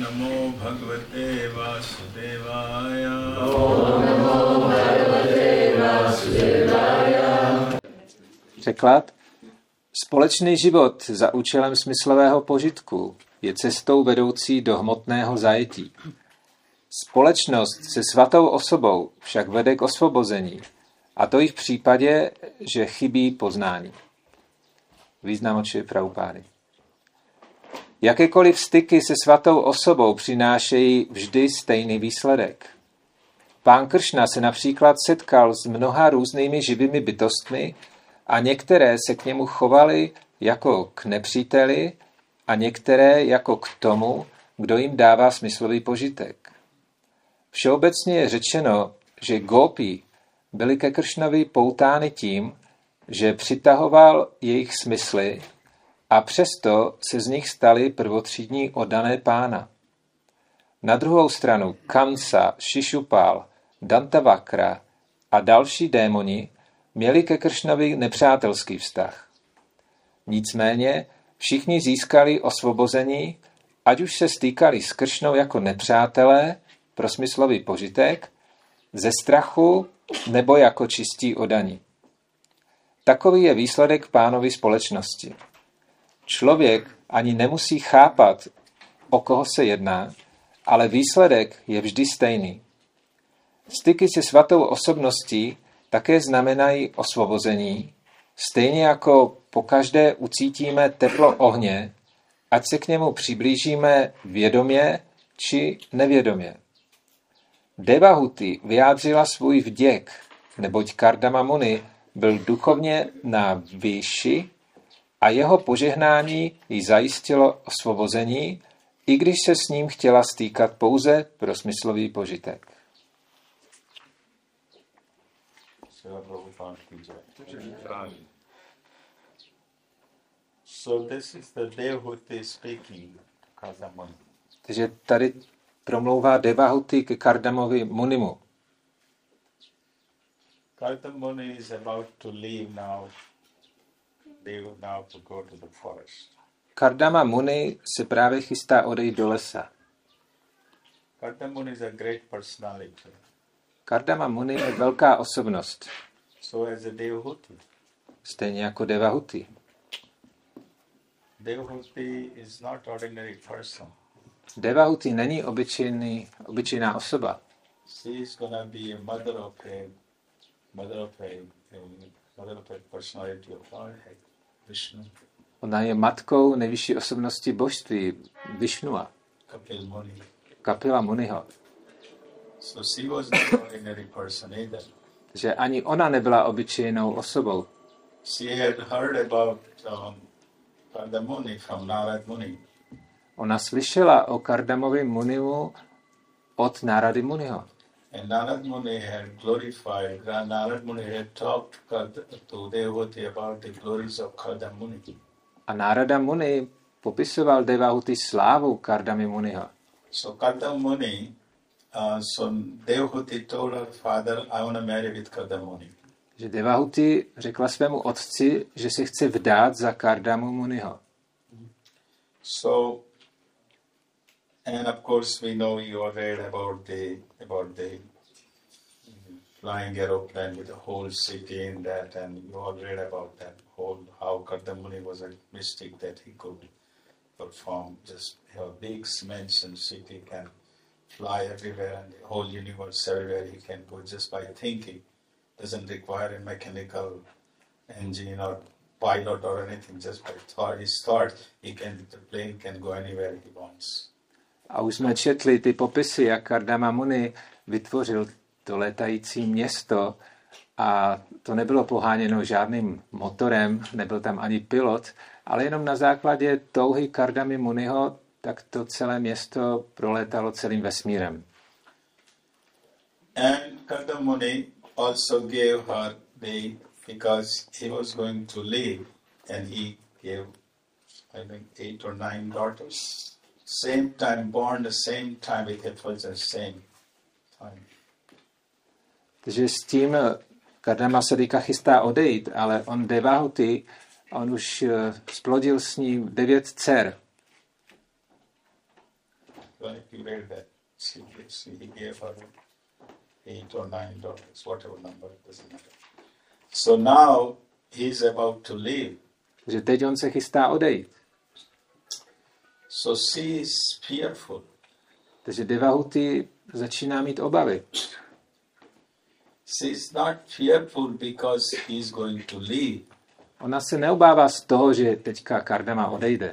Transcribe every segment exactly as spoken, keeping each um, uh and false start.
namo bhagavate vasudevaya. Om namo bhagavate vasudevaya. Překlad. Společný život za účelem smyslového požitku je cestou vedoucí do hmotného zajetí. Společnost se svatou osobou však vede k osvobození, a to i v případě, že chybí poznání. Význam od Šrily Prabhupády. Jakékoliv styky se svatou osobou přinášejí vždy stejný výsledek. Pán Kršna se například setkal s mnoha různými živými bytostmi a některé se k němu chovaly jako k nepříteli a některé jako k tomu, kdo jim dává smyslový požitek. Všeobecně je řečeno, že gópy byly ke Kršnovi poutány tím, že přitahoval jejich smysly a přesto se z nich stali prvotřídní oddané pána. Na druhou stranu Kamsa, Šišupal, Dantavakra a další démoni měli ke Kršnovi nepřátelský vztah. Nicméně všichni získali osvobození, ať už se stýkali s Kršnou jako nepřátelé pro smyslový požitek, ze strachu nebo jako čistí oddaní. Takový je výsledek pánovy společnosti. Člověk ani nemusí chápat, o koho se jedná, ale výsledek je vždy stejný. Styky se svatou osobností také znamenají osvobození, stejně jako pokaždé ucítíme teplo ohně, ať se k němu přiblížíme vědomě či nevědomě. Devahuti vyjádřila svůj vděk, neboť Kardama Muni byl duchovně na výši a jeho požehnání jí zajistilo osvobození, i když se s ním chtěla stýkat pouze pro smyslový požitek. So this is the Devahuti speaking, Kardama. Takže tady promlouvá Devahuti ke Kardamovi Munimu. Kardama Muni is about to leave now. They will now to go to the forest. Kardama Muni se právě chystá odejít do lesa. Kardama Muni is a great personality. Kardama Muni je velká osobnost. So as a Devahuti. Stejně jako Devahuti. Devahuti is not ordinary person. Devahuti není obyčejný, obyčejná osoba. She is gonna be a mother of a mother of a, a mother of a personality of Lord Vishnu. Ona je matkou nejvyšší osobnosti božství, Vishnua. Kapil Muni. Kapila Muniho. So she was not ordinary person either. Že ani ona nebyla obyčejnou osobou. She had heard about um, Kardama Muni from Narad Muni. Ona slyšela o Kardamovi Munimu od Narady Muniho. And Narad Muni had glorified, Narad Muni had talked to Devahuti about the glories of Kardama Muni. A Narada Muni popisoval Devahuti slávu Kardamy Muniho. So Kardama Muni, uh, so Devahuti told her father, I want to marry with Kardama Muni. Že Devahuti řekla svému otci, že se chce vdát za Kardamu Muniho. So, and of course we know you all read about the about the flying aeroplane with the whole city in that, and you all read about that whole how Kardama Muni was a mystic that he could perform just have a big mansion city, can fly everywhere and the whole universe everywhere he can go just by thinking. Doesn't require a mechanical engine or pilot or anything, just by thought. His thought, he can, the plane can go anywhere he wants. A už jsme četli ty popisy, jak Kardama Muni vytvořil to létající město a to nebylo poháněno žádným motorem, nebyl tam ani pilot, ale jenom na základě touhy Kardamy Muniho, tak to celé město prolétalo celým vesmírem. And Kardama Muni also gave her the, because he was going to leave, and he gave, I think, eight or nine daughters. Same time, born the same time, it was the same time. Takže s tím Kardama se teďka chystá odejít, ale on Devahuti, on už splodil s ním devět dcer. like you read that. She, she he gave her eight or nine daughters, whatever number, it doesn't matter. So now he's about to leave. Že teď on se chystá odejít. So she is fearful. Takže Devahuti začíná mít obavy. She is not fearful because he is going to leave. Ona se neobává z toho, že teďka Kardama odejde.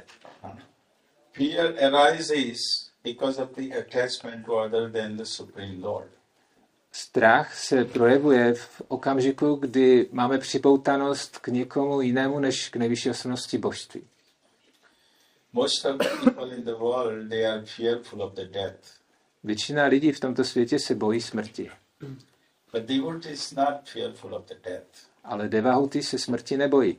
Fear arises because of the attachment to other than the Supreme Lord. Strach se projevuje v okamžiku, kdy máme připoutanost k někomu jinému než k nejvyšší osobnosti božství. Most of the people in the world, they are fearful of the death. Většina lidí v tomto světě se bojí smrti. But devotee is not fearful of the death. Ale Devahuti se smrti nebojí.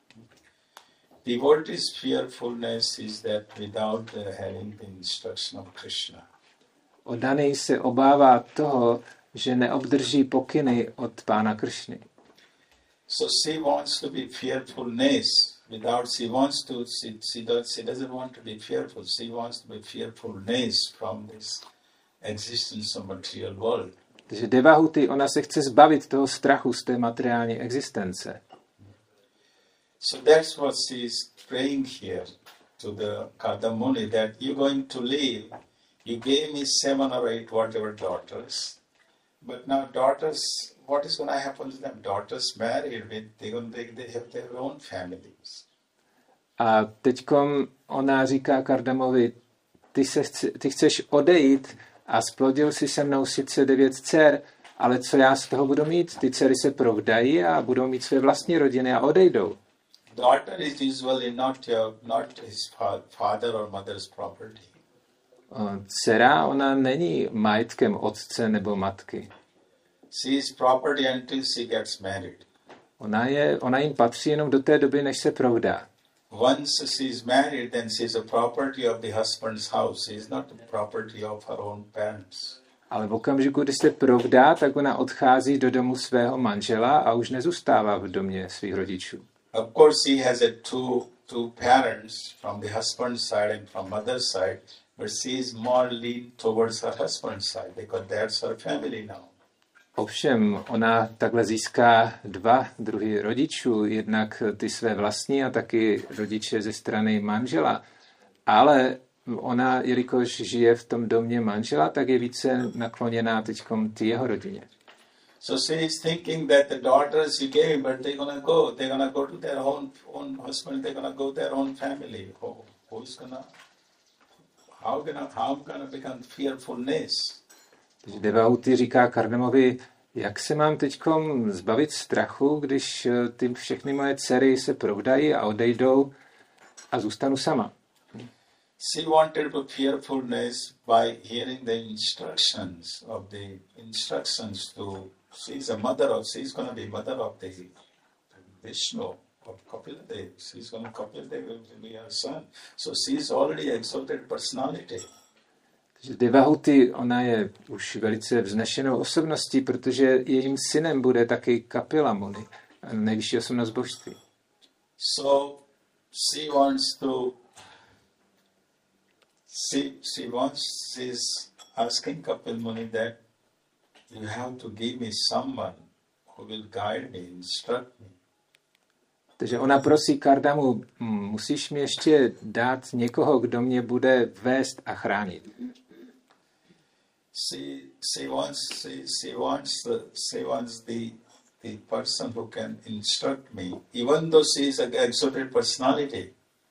Devotee's fearfulness is that without the having the instruction of Krishna. Oddaný se obává toho, že neobdrží pokyny od Pána Kršny. So she wants to be fearfulness without, she wants to, she, she, does, she doesn't want to be fearful, she wants to be fearfulness from this existence of material world. Takže Devahuti, ona se chce zbavit toho strachu z té materiální existence. So that's what she is praying here to the Kardamuni, that you're going to leave. You gave me seven or eight whatever daughters, but now daughters, what is going to happen to them? Daughters married, with, they're going to, they have their own families. A teďkom ona říká Kardamovi, ty, se chce, ty chceš odejít a splodil si se mnou sice devět dcer, ale co já z toho budu mít? Ty dcery se provdají a budou mít své vlastní rodiny a odejdou. Daughter is usually not your, not his father or mother's property. Dcera, ona není majetkem otce nebo matky. She is property until she gets married. Ona, je, ona jim patří jenom do té doby, než se provdá. Once she is married, then she is a property of the husband's house. She is not the property of her own parents. Ale v okamžiku, kdy se provdá, tak ona odchází do domu svého manžela a už nezůstává v domě svých rodičů. Of course, she has a two two parents from the husband's side and from mother's side, but she is more lean towards her husband's side because that's her family now. Ovšem, ona takhle získá dva druhy rodičů, jednak ty své vlastní a taky rodiče ze strany manžela. Ale ona, jelikož žije v tom domě manžela, tak je více nakloněná teďkom ty jeho rodině. So she is thinking that the daughters you gave, but they're gonna go. They're gonna go to their own own husband. They're gonna go to their own family. Who, who's gonna? How gonna? How gonna become fearfulness? Takže Devahuti říká Kardamovi, jak se mám teďkom zbavit strachu, když ty všechny moje dcery se provdají a odejdou a zůstanu sama. She wanted to fearfulness by hearing the instructions of the instructions to. She's a mother of. She's going to be mother of the Vishnu of Kapila Dev. She's going to Kapila Dev will be her son. So she's already exalted personality. Takže Devahuti, ona je už velice vznešenou osobností, protože jejím synem bude taky Kapila Muni, nejvyšší osobnost božství. So she wants to. She she wants. She's asking Kapil Muni that you have to give me someone who will guide me, instruct me. Takže ona prosí Kardamu, musíš mi ještě dát někoho, kdo mě bude vést a chránit. She she wants she, she wants the she wants the the person who can instruct me, even though she is an exalted personality.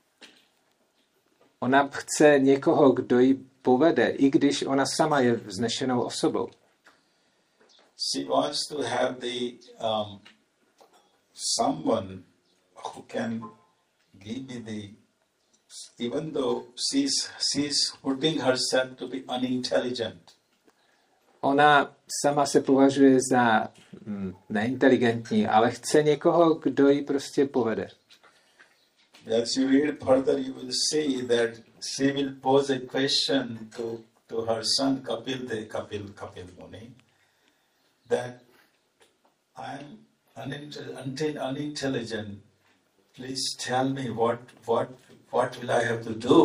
Ona chce někoho, kdo ji povede, i když ona sama je vznešenou osobou. She wants to have the um, someone who can give me the, even though she's she's putting herself to be unintelligent. Ona sama se považuje za mm, neinteligentní, ale chce někoho, kdo ji prostě povede. As you read further, you will see that she will pose a question to, to her son Kapil Dev, Kapil Kapil Muni, that I'm unintelligent, unintelligent. Please tell me what what what will I have to do to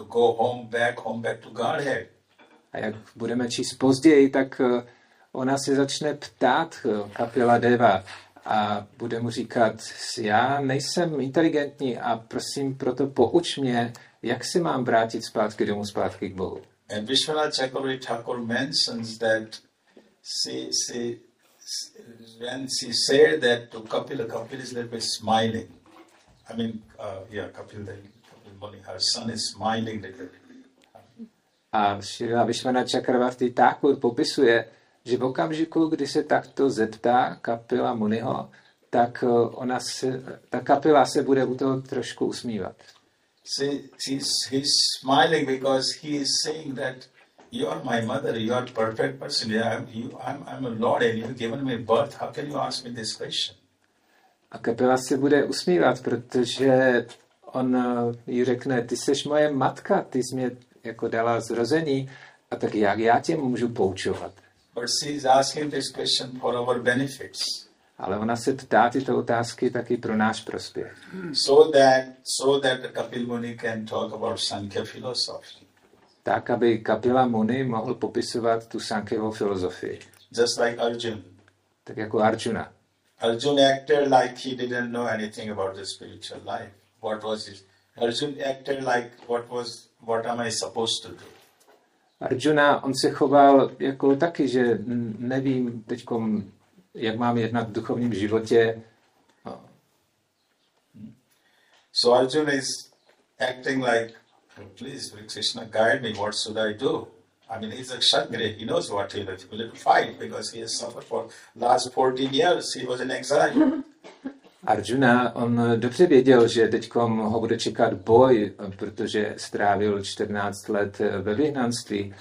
to go home, back, home, back to Godhead. A jak budeme číst později, tak uh, ona se začne ptát uh, Kapila Deva a bude mu říkat, já nejsem inteligentní a prosím, proto pouč mě, jak se mám vrátit zpátky domů, zpátky k Bohu. And Vishwanath Chakravarti Thakur mentions that she, she, when she said that to Kapila, Kapila is little bit smiling. I mean, uh, yeah, Kapil, Kapil Muni, her son is smiling little bit. A Šrila Vishwanath Chakravarti Thakur popisuje, že v okamžiku, kdy se takto zeptá Kapila Muniho, tak ona se, ta Kapila se bude u toho trošku usmívat. See, he's, he's smiling because he is saying that you are my mother, you are a perfect person, I'm, you, I'm, I'm a Lord and you've given me birth, how can you ask me this question? A Kapila se bude usmívat, protože on jí řekne, ty seš moje matka, ty jsi mě jako dala zrození, a tak jak já tě můžu poučovat? But she is asking this question for our benefits. Ale ona se ptá tyto otázky taky pro náš prospěch. So that, so that Kapil Muni can talk about Sankhya philosophy. Tak, aby Kapila Muni mohl popisovat tu Sankhyavu filozofii. Just like Arjuna. Tak jako Arjuna. Arjuna acted like he didn't know anything about the spiritual life. What was it? Arjuna acted like what was, what am I supposed to do? Arjuna, on se choval jako taky, že nevím teďkom, jak mám jednat v duchovním životě. So Arjuna is acting like, please, Krishna, guide me, what should I do? I mean, he's a Kshatriya, he knows what he will fight because he has suffered for last fourteen years, he was in exile. Arjuna, on dobře věděl, že teďkom ho bude čekat boj, protože strávil čtrnáct let ve vyhnanství.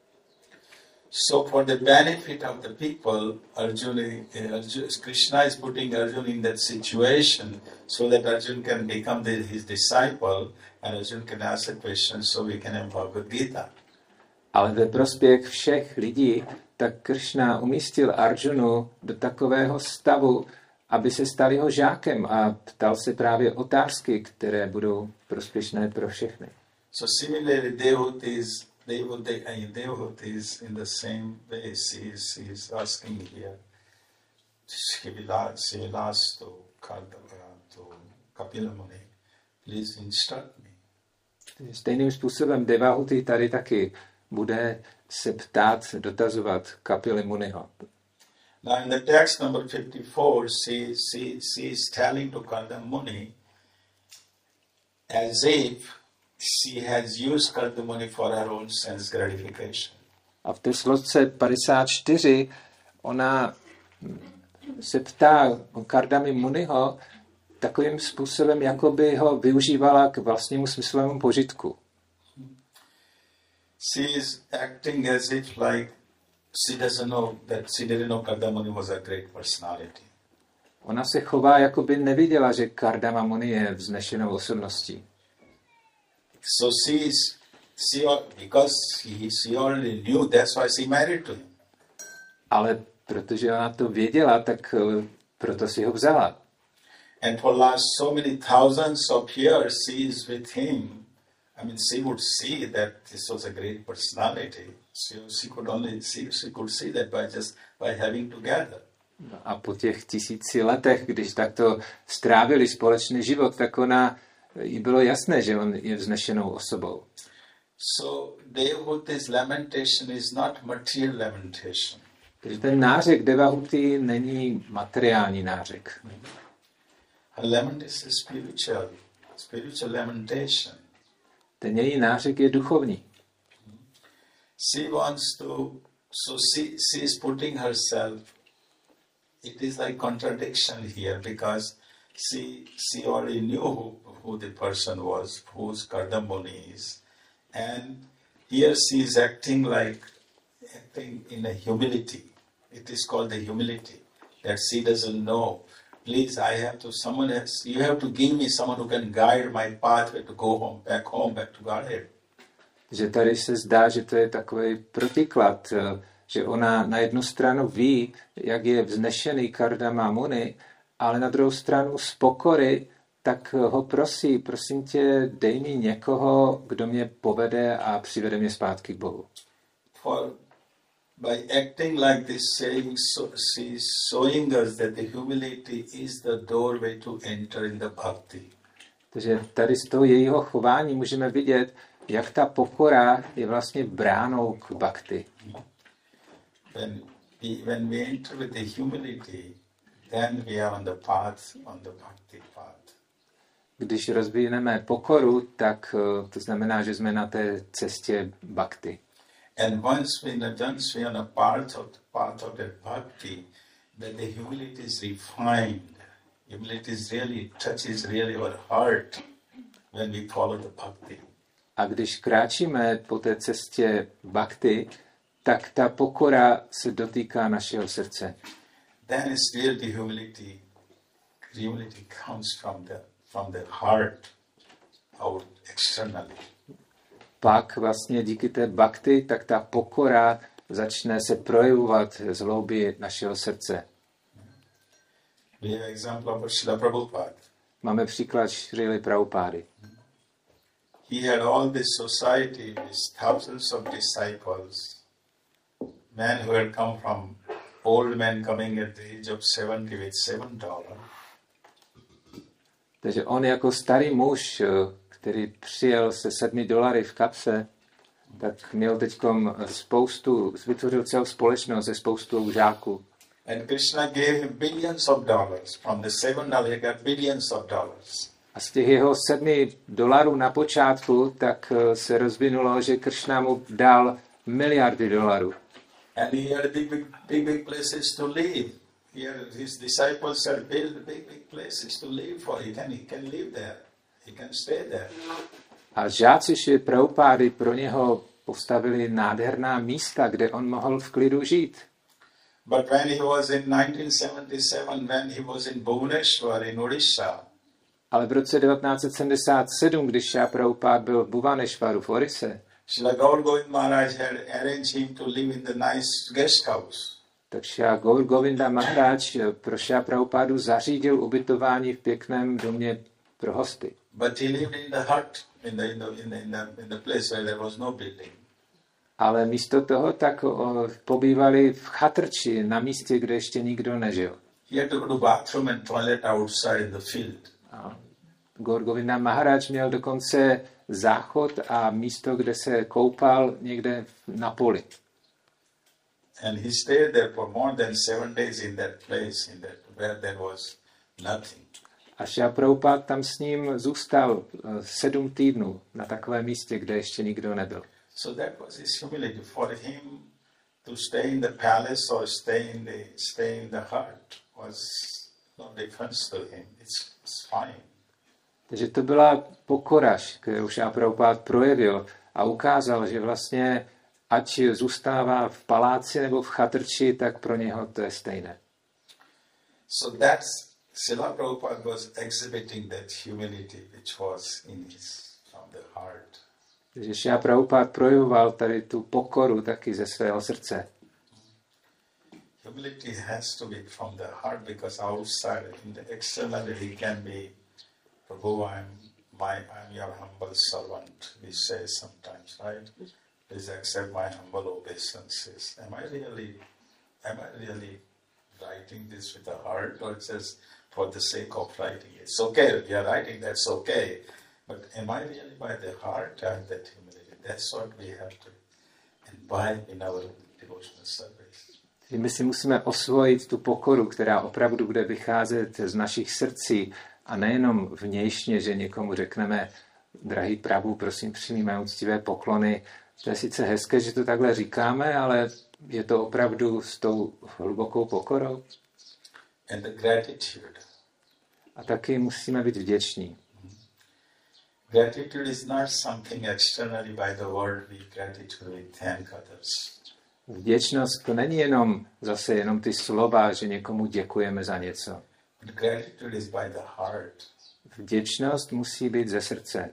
So for the benefit of the people, Arjuna, Arjuna, Krishna is putting Arjuna in that situation so that Arjuna can become the, his disciple and Arjuna can ask the question so we can have Bhagavad Gita. Ale ve prospěch všech lidí, tak Krishna umístil Arjunu do takového stavu, aby se stal jeho žákem a ptal se právě otázky, které budou prospěšné pro všechny. So similarly, Devahutis, Devahutis in the same way, she is, she is asking here, she will ask to Kapila Muni, please instruct me. Stejným způsobem Devahuti tady taky bude se ptát, dotazovat Kapily Muniho. Now in the text number fifty-four, she, she, she is telling to Kapila Muni as if she has used Kapila Muni for her own sense gratification. A v té složce padesát čtyři ona se ptá Kardamy Muniho takovým způsobem, jako by ho využívala k vlastnímu smyslovému požitku. She is acting as if like she doesn't know that she didn't know Kardama Muni was a great personality. Ona se chová, jako by neviděla, že Kardama Muni je vznešenou osobností. So she is, she, because he, she already knew, that's why she married to him. Ale protože ona to věděla, tak proto si ho vzala. And for last so many thousands of years she is with him. I mean, she would see that this was a great personality. She, she could only see, she could see that by just by having together. No a po těch tisíci letech, když takto strávili společný život, tak ona, jí bylo jasné, že on je vznešenou osobou. So Devahuti's lamentation is not material lamentation. Takže ten nářek Devahuti není materiální nářek. Her lamentation is spiritual, spiritual lamentation. Ten její nářek je duchovní. She wants to, so she, she is putting herself, it is like contradiction here because she, she already knew who, who the person was, whose Kardama Muni is. And here she is acting like, acting in a humility. It is called the humility, that she doesn't know. Please, I have to, someone else, you have to give me someone who can guide my pathway to go home, back home, back to Godhead. Že tady se zdá, že to je takový protiklad, že ona na jednu stranu ví, jak je vznešený Kardama Muni, ale na druhou stranu z pokory tak ho prosí, prosím tě, dej mi někoho, kdo mě povede a přivede mě zpátky k Bohu. For by acting like this, saying, so, she is showing us that the humility is the doorway to enter in the bhakti. Takže tady z toho jejího chování můžeme vidět, jak ta pokora je vlastně bránou k bhakti. When we, when we enter with the humility, then we are on the path, on the bhakti path. Když rozvineme pokoru, tak to znamená, že jsme na té cestě bhakti. And once we, once we are on a path of, path of the bhakti, then the humility is refined. Humility is really touches really our heart when we follow the bhakti. A když kráčíme po té cestě bhakti, tak ta pokora se dotýká našeho srdce. Then it's real the humility. Humility comes from the from the heart out externally. Pak vlastně díky té bhakti, tak ta pokora začne se projevovat z hloubi našeho srdce. We have example of Srila Prabhupada. Máme příklad Šrily Prabhupády. He had all this society with thousands of disciples, men who had come from old men coming at the age of seventy with seven dollars. Takže on jako starý muž, který přijel se sedmi dolary v kapse, tak měl teďkom spoustu, vytvořil celou společnost ze spoustu žáků. And Krishna gave him billions of dollars. From the seven dollars, he got billions of dollars. A z těch jeho sedmi dolarů na počátku, tak se rozvinulo, že Kršna mu dal miliardy dolarů. And he had big, big, big, big places to live. He had, his disciples had built big, big places to live for. He can, he can live there. He can stay there. A žáci Šrily Prabhupády pro něho postavili nádherná místa, kde on mohl v klidu žít. But when he was in nineteen seventy-seven, when he was in Bhubaneswar in Odisha, Ale v roce devatenáct set sedmdesát sedm, když Šrila Prabhupád byl v Bhubaneswaru v Orise, Srila Gaur Govind Maharaj had arranged him to live in the nice guest house. tak Šrila Gaur Govinda Maharaj pro Šrila Prabhupádu zařídil ubytování v pěkném domě pro hosty. But he lived in the hut, in the, in the, in the, in the, in the place where there was no building. Ale místo toho tak o, pobývali v chatrči na místě, kde ještě nikdo nežil. He had to go to bathroom and toilet outside in the field. A Gaur Govinda Maharaj měl dokonce záchod a místo, kde se koupal někde na poli. And he stayed there for more than seven days in that place, in that where there was nothing. A Šrila Prabhupád tam s ním zůstal sedm týdnů na takovém místě, kde ještě nikdo nebyl. So that was his humility. For him to stay in the palace or stay in the stay in the hut was no difference to him. It's, it's fine. Takže to byla pokora, kterou Šrila Prabhupád projevil a ukázal, že vlastně ať zůstává v paláci nebo v chatrči, tak pro něho to je stejné. So that's Srila Prabhupada was exhibiting that humility which was in his from the heart. Takže Šrila Prabhupád projevoval tady tu pokoru taky ze svého srdce. Humility has to be from the heart because outside, in the externally, he can be, Prabhu, I'm, my, I'm your humble servant, we say sometimes, right? Please accept my humble obeisances. Am I really, am I really writing this with the heart or just for the sake of writing? It's okay, if you're writing, that's okay. But am I really by the heart and that humility? That's what we have to imbibe in our devotional service. My si musíme osvojit tu pokoru, která opravdu bude vycházet z našich srdcí a nejenom vnějšně, že někomu řekneme, drahý Prabhu, prosím, přijmi mé úctivé poklony. To je sice hezké, že to takhle říkáme, ale je to opravdu s tou hlubokou pokorou. And the gratitude. A taky musíme být vděční. Gratitude is not something externally by the word we gratitude, we thank others. Vděčnost to není jenom zase jenom ty slova, že někomu děkujeme za něco. But gratitude is by the heart. Vděčnost musí být ze srdce.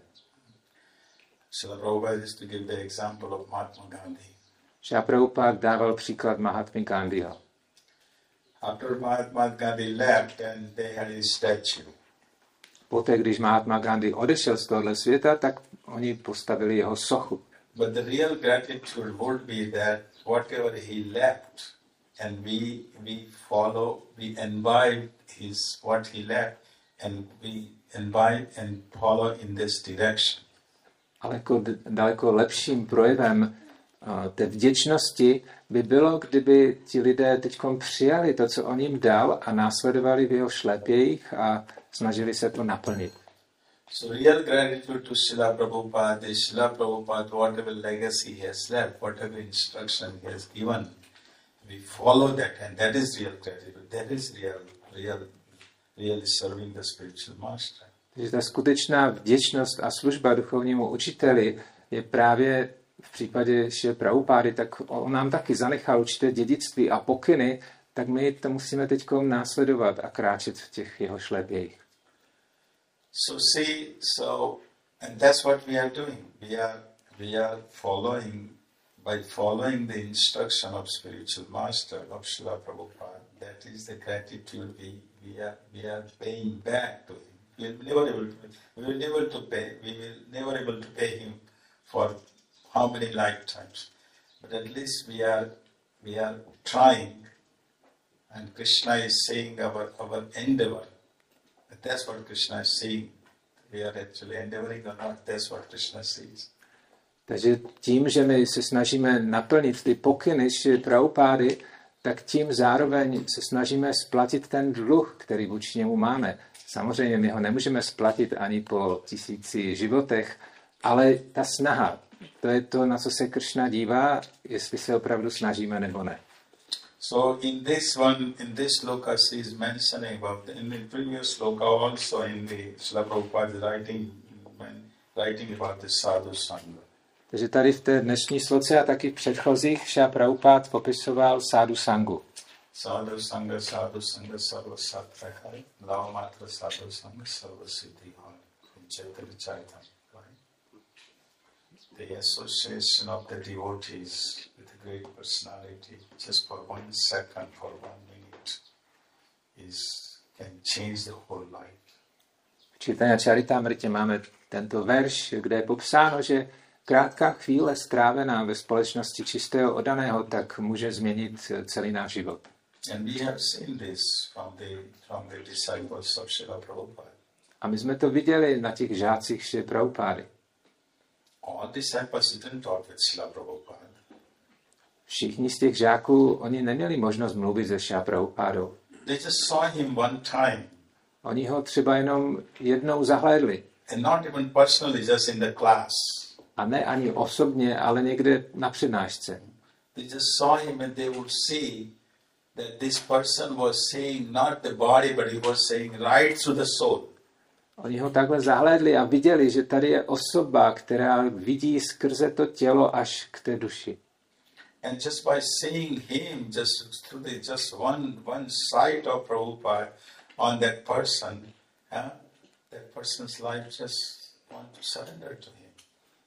Srila Prabhupada used to give the example of Mahatma Gandhi. Šrila Prabhupád dával příklad Mahatmy Gandhiho. After Mahatma Gandhi left, and they had his statue. poté, když Mahatma Gandhi odešel z tohoto světa, tak oni postavili jeho sochu. But the real gratitude would be that whatever he left, and we we follow, we imbibe his what he left, and we imbibe and follow in this direction. Ale jako daleko lepším projevem uh, té vděčnosti by bylo, kdyby ti lidé teď přijali to, co on jim dal a následovali v jeho šlepějích a snažili se to naplnit. So real gratitude to Srila Prabhupada is Srila Prabhupada, whatever legacy he has left, whatever instruction he has given, we follow that, and that is real gratitude. That is real, real, really serving the spiritual master. Takže ta skutečná vděčnost a služba duchovnímu učiteli je právě v případě Šrily Prabhupády, tak on nám taky zanechal určité dědictví a pokyny, tak my to musíme teď následovat a kráčet v těch jeho šlepějích. So see, so, and that's what we are doing. We are, we are following, by following the instruction of spiritual master of Srila Prabhupada. That is the gratitude we, we are, we are paying back to him. We will never able to, we will never to pay, we will never able to pay him for how many lifetimes. But at least we are, we are trying, and Krishna is saying our, our endeavor. That's what Krishna is saying. We are actually endeavoring or not, that's what Krishna says. Takže tím, že my se snažíme naplnit ty pokyny Šrily Prabhupády, tak tím zároveň se snažíme splatit ten dluh, který vůči němu máme. Samozřejmě my ho nemůžeme splatit ani po tisíci životech, ale ta snaha, to je to, na co se Krishna dívá, jestli se opravdu snažíme nebo ne. So in this one, in this sloka, she is mentioning about the, in the previous sloka also in the Srila Prabhupada writing, when writing about the sadhu sangha. Takže tady v té dnešní sloce a taky v předchozích Šrila Prabhupada popisoval sádu sangu. Sadhu sangha, sadhu sangha, sarva satvahai, lava matra sadhu sangha, sarva siddhi hai. From Chaitanya Charitamrita. The association of the devotees with a great personality, just for one second, for one minute, is can change the whole life. V Chaitanya Charitamritě máme tento verš, kde je popsáno, že krátká chvíle strávená ve společnosti čistého oddaného, tak může změnit celý náš život. And we have seen this from the from the disciples of Srila Prabhupada. A my jsme to viděli na těch žácích Šrily Prabhupády. All disciples didn't talk with Srila Prabhupada. Všichni z těch žáků, oni neměli možnost mluvit se Šrila Prabhupádou. They just saw him one time. Oni ho třeba jenom jednou zahlédli. And not even personally, just in the class. A ne ani osobně, ale někde na přednášce. They just saw him and they would see that this person was saying not the body, but he was saying right through the soul. Oni ho takhle zahlédli a viděli, že tady je osoba, která vidí skrze to tělo až k té duši. And just by seeing him, just through the just one one sight of Prabhupada on that person, huh, that person's life just want to surrender to him.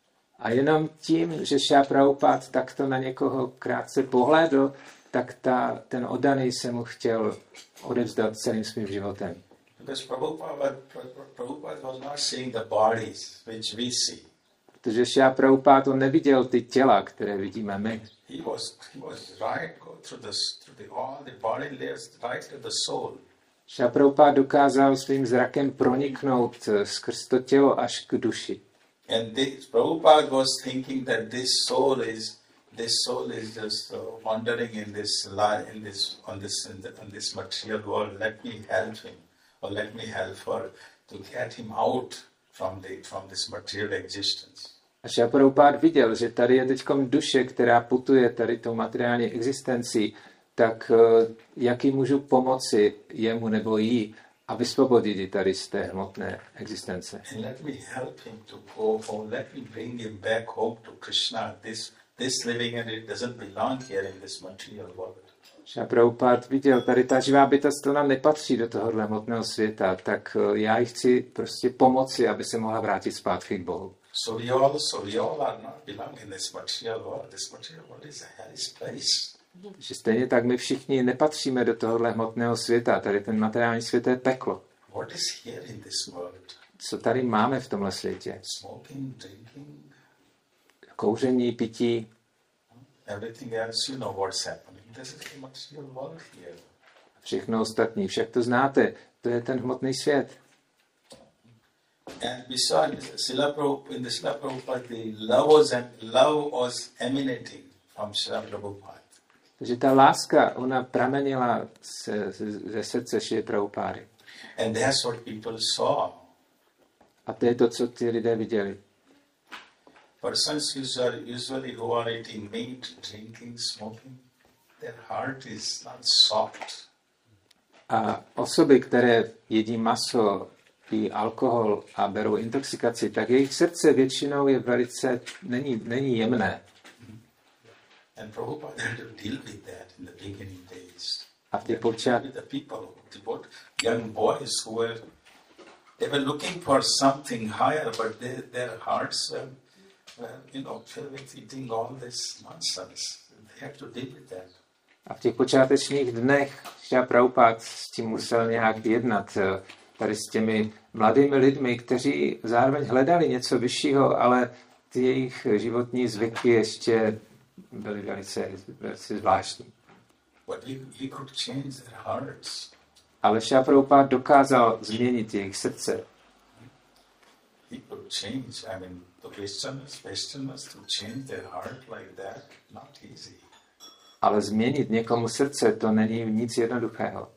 A jenom tím, že Šrila Prabhupada takto na někoho krátce pohlédl, tak ta, ten oddaný se mu chtěl odevzdat celým svým životem. Because Prabhupada, Prabhupada was not seeing the bodies which we see. Protože Šrila Prabhupada on neviděl ty těla, které vidíme my. He was he was right go through the through the all the body layers right to the soul. Šrila Prabhupada dokázal svým zrakem proniknout skrz to tělo až k duši. And this, Prabhupada was thinking that this soul is this soul is just uh, wandering in this life, in this on this in the, on this material world. Let me help him, or let me help her to get him out from the from this material existence. A Šrila Prabhupada viděl, že tady je teďkom duše, která putuje tady tou materiální existencí, tak jak jí můžu pomoci jemu nebo jí a vysvobodit ji tady z té hmotné existence. And let me help him to go home. Let me bring him back home to Krishna. This this living and it doesn't belong here in this material world. Šrila Prabhupada viděl, tady ta živá bytost, to nám nepatří do tohohle hmotného světa, tak já jí chci prostě pomoci, aby se mohla vrátit zpátky k Bohu. So we all, so we all are not belong in this material world. This material world is a hellish place. Že stejně tak my všichni nepatříme do tohohle hmotného světa, tady ten materiální svět je peklo. what is here in this world? Co tady máme v tomhle světě? Smoking, drinking, Kouření, pití, everything else, you know what's happening. This is the material world here. všechno ostatní. Však to znáte, to je ten hmotný svět. And besides, Srila Prabhupada, in the Srila Prabhupada, the love was, love was emanating from Srila Prabhupada. Takže ta láska, ona pramenila ze, ze srdce Šrily Prabhupády. And that's what people saw. A to je to, co ty lidé viděli. Persons usually, usually who are eating meat, drinking, smoking, their heart is not soft. A osoby, které jedí maso, pijí alkohol a berou intoxikaci, tak jejich srdce většinou je velice, není, není jemné. And Prabhupada had to deal with that in the beginning days. A v těch počát, With the people, the both young boys who were, they were looking for something higher, but they, their hearts were, were, you know, filled with eating all this nonsense. They had to deal with that. a v těch počátečních dnech Šrila Prabhupád s tím musel nějak jednat. Tady s těmi mladými lidmi, kteří zároveň hledali něco vyššího, ale ty jejich životní zvyky ještě byly velice, velice zvláštní. But he, he could change their hearts. Ale Šrila Prabhupád dokázal změnit jejich srdce. He could change. I mean, the Westerners, Westerners to change their heart like that, not easy. Ale změnit někomu srdce, to není nic jednoduchého.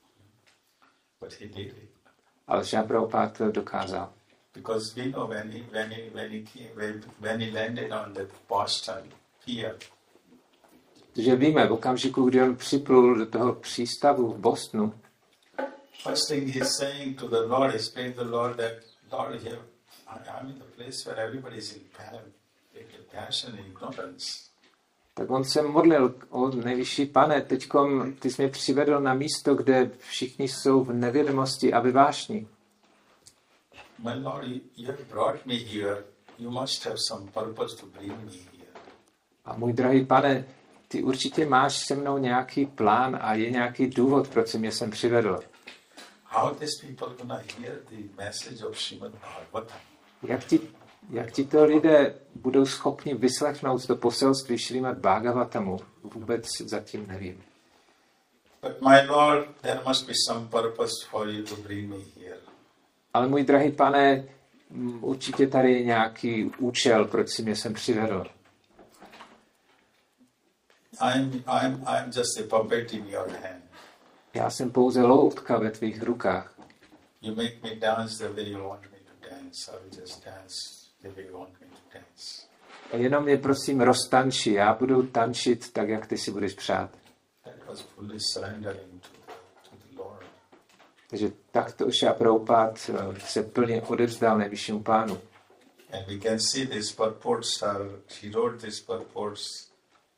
But he did it. Ale Šrila Prabhupád to dokázal. Because we know when he when he when he came, when, when he landed on the Boston pier, Protože víme, v okamžiku, kdy on připlul do toho přístavu v Bostonu, first thing he's saying to the Lord, he's praying to the Lord that, Lord, here, I'm in the place where everybody's in panic, in passion and ignorance. tak on se modlil: o nejvyšší Pane, teďkom ty jsi mě přivedl na místo, kde všichni jsou v nevědomosti a ve vášni. My Lord, you, you have brought me here. You must have some purpose to bring me here. A můj drahý Pane, ty určitě máš se mnou nějaký plán a je nějaký důvod, proč jsi mě sem přivedl. How these people gonna hear the message of Srimad Bhagavatam? Jak ti, jak ti to lidé budou schopni vyslechnout to poselství Šrímad Bhagavatamu? Vůbec zatím nevím. But my Lord, there must be some purpose for you to bring me here. Ale můj drahý Pane, m, určitě tady je nějaký účel, proč jsi mě sem přivedl. I'm, I'm, I'm just a puppet in your hand. Já jsem pouze loutka ve tvých rukách. You make me dance the way you want me to dance. I will just dance the way you want me to dance. A jenom mě prosím roztanči, já budu tančit tak, jak ty si budeš přát. That was fully surrendering to, to the Lord. Takže takto Šrila Prabhupád se plně odevzdal nejvyššímu Pánu. And we can see these purports are, he wrote these purports,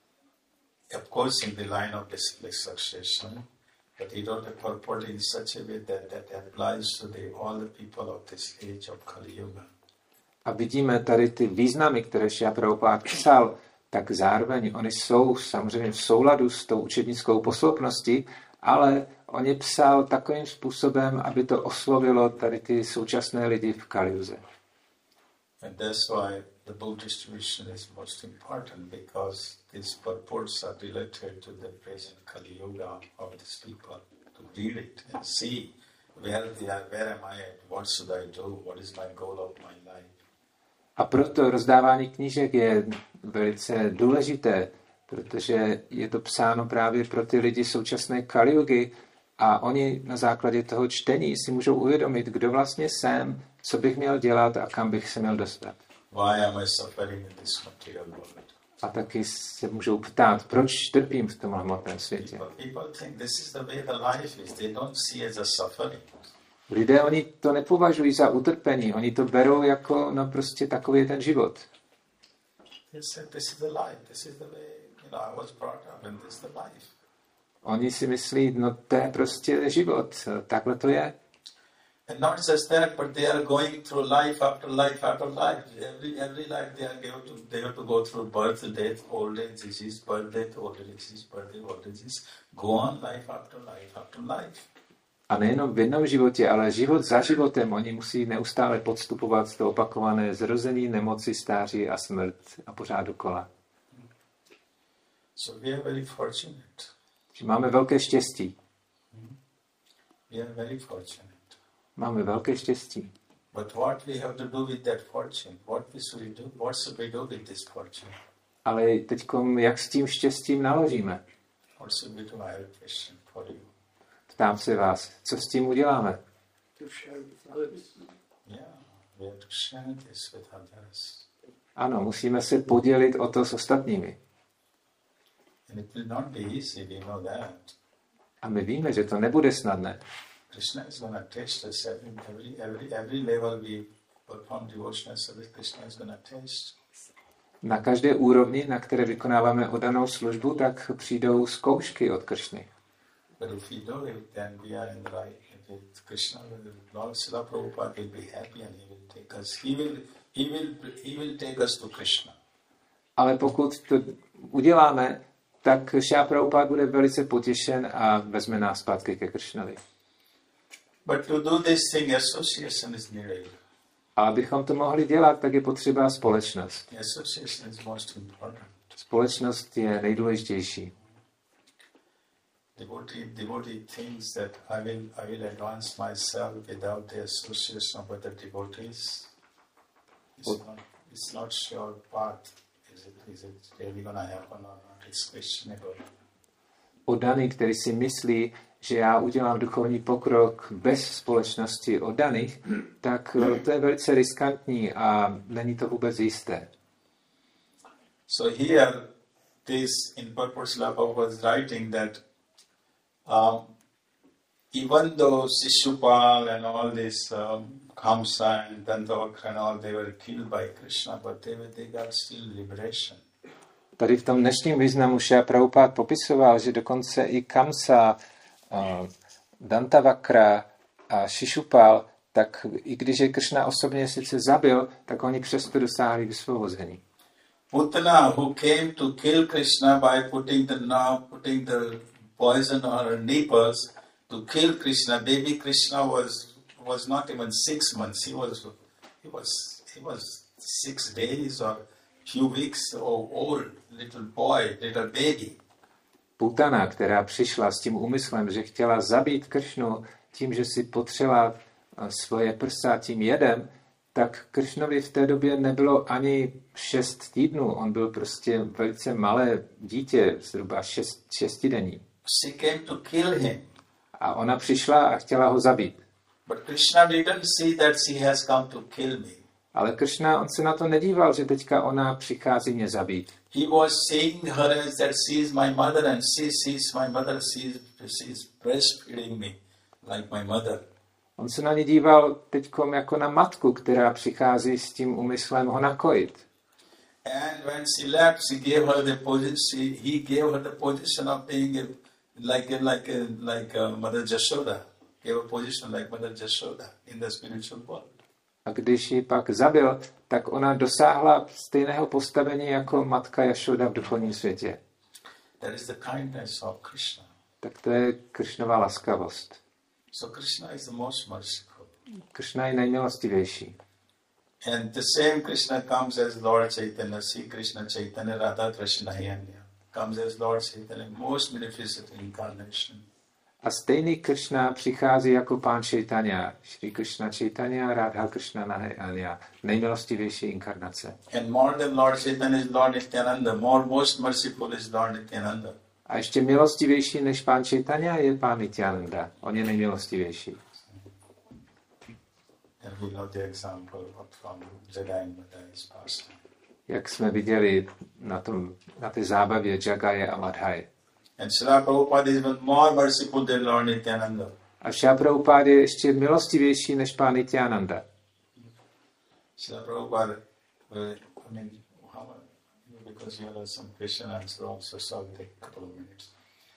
of course, in the line of disciplic succession, but he wrote a purport in such a way that that applies to the, all the people of this age of Kali Yuga. A vidíme tady ty významy, které Šrila Prabhupád psal, tak zároveň oni jsou samozřejmě v souladu s tou učednickou posloupností, ale on je psal takovým způsobem, aby to oslovilo tady ty současné lidi v Kaliuze. And that's why the book distribution is most important, because these purports are related to the present Kali Yuga of these people, to read it and see where they are, where am I at, what should I do, what is my goal of my life. A proto rozdávání knížek je velice důležité, protože je to psáno právě pro ty lidi současné Kaliugy a oni na základě toho čtení si můžou uvědomit, kdo vlastně jsem, co bych měl dělat a kam bych se měl dostat. Why am I suffering in this material world? A taky se můžou ptát, proč trpím v tomhle hmotném světě. People, people think this is the way the life is. They don't see it as a suffering. Lidé, oni to nepovažují za utrpení, oni to berou jako, no prostě takový je ten život. They say this is the life, this is the way, you know, I was brought up and this is the life. Oni si myslí, no to je prostě život, takhle to je. And not just that, but they are going through life after life after life. Every every life they are going to they have to go through birth, death, old age, disease, birth, death, old age, disease, birth, death, old age, disease. Go on life after life after life. A nejenom v jednom životě, ale život za životem. Oni musí neustále podstupovat to opakované zrození, nemoci, stáří a smrt a pořád dokola. So we are very fortunate. Máme velké štěstí. We are very fortunate. Máme velké štěstí. But what we have to do with that fortune? What we should we do? What should we do with this fortune? Ale teďkom, jak s tím štěstím naložíme? What should we do? I have a question for you. Ptám se vás, co s tím uděláme? To share with others. Yeah, we have to share this with others. Ano, musíme se podělit o to s ostatními. And it will not be easy, we know that. A my víme, že to nebude snadné. Krishna is going to test us every, every, every, every level we perform devotional service. Krishna is going to test. Na každé úrovni, na které vykonáváme oddanou službu, tak přijdou zkoušky od Kršny. But if we do it, then we are in the right with Krishna. Lord Srila Prabhupada will be happy and he will take us. He will, he will, he will take us to Krishna. Ale pokud to uděláme, tak Šrila Prabhupada bude velice potěšen a vezme nás zpátky ke Kršnovi. But to do this thing, association is needed. A abychom to mohli dělat, tak je potřeba společnost. Association is most important. Společnost je nejdůležitější. Devotee, devotee thinks that I will, I will advance myself without the association of other devotees. It's not, it's not sure path. Is it, is it really going to happen or not? It's questionable. Oddaný, který si myslí, že já udělám duchovní pokrok bez společnosti oddaných, tak to je velice riskantní a není to vůbec jisté. So here, this in purpose Lapa was writing that um, even though Shishupal and all this um, Kamsa and Dandavakra and all, they were killed by Krishna, but they, were, they got still liberation. Tady v tom dnešním významu Šrila Prabhupád popisoval, že dokonce i Kamsa, uh, Dantavakra a Shishupal, tak i když je Kršna osobně sice zabil, tak oni přesto dosáhli vysvobození. Putana, who came to kill Krishna by putting the now putting the poison on her nipples to kill Krishna, baby Krishna was was not even six months. He was he was he was six days or few weeks old, little boy, little baby. Putana, která přišla s tím úmyslem, že chtěla zabít Kršnu tím, že si potřela svoje prsa tím jedem, tak Kršnovi v té době nebylo ani šest týdnů. On byl prostě velice malé dítě, zhruba šest, šestidenní. She came to kill him. A ona přišla a chtěla ho zabít. But Krishna didn't see that she has come to kill me. Ale Kršna, on se na to nedíval, že teďka ona přichází mě zabít. He was seeing her as that she is my mother and she sees my mother, she is, she is breastfeeding me like my mother. On se na ně díval teďkom jako na matku, která přichází s tím úmyslem ho nakojit. And when she left, she gave her the position. He gave her the position of being a, like a, like a, like a Mother Jashoda. Gave a position like Mother Jashoda in the spiritual world. A když ji pak zabil, tak ona dosáhla stejného postavení jako matka Jašoda v duchovním světě. That is the kindness of Krishna. Tak to je Kršnova laskavost. So Krishna is the most merciful. Kršna je nejmilostivější. And the same Krishna comes as Lord Chaitanya, Sri Krishna Chaitanya, Radha Krishna Yanya. Comes as Lord Chaitanya, most beneficent incarnation. A stejný Kršna přichází jako pán Chaitanya, Sri Krishna Chaitanya, Radha Krishna Yanya, nejmilostivější inkarnace. And more than Lord Chaitanya is Lord Nityananda, more most merciful is Lord Nityananda. A ještě milostivější než pán Chaitanya je pán Nityananda. On je nejmilostivější. And we know the example from Jagai and Madhai's past. Jak jsme viděli na, tom, na té zábavě Jagaje a Madhai. And Srila Prabhupada is even more merciful than Lord Nityananda. A Srila Prabhupada je ještě milostivější než pán Nityananda. Srila Prabhupada, I mean, how, because you have some question answer also, so I'll take a couple of minutes.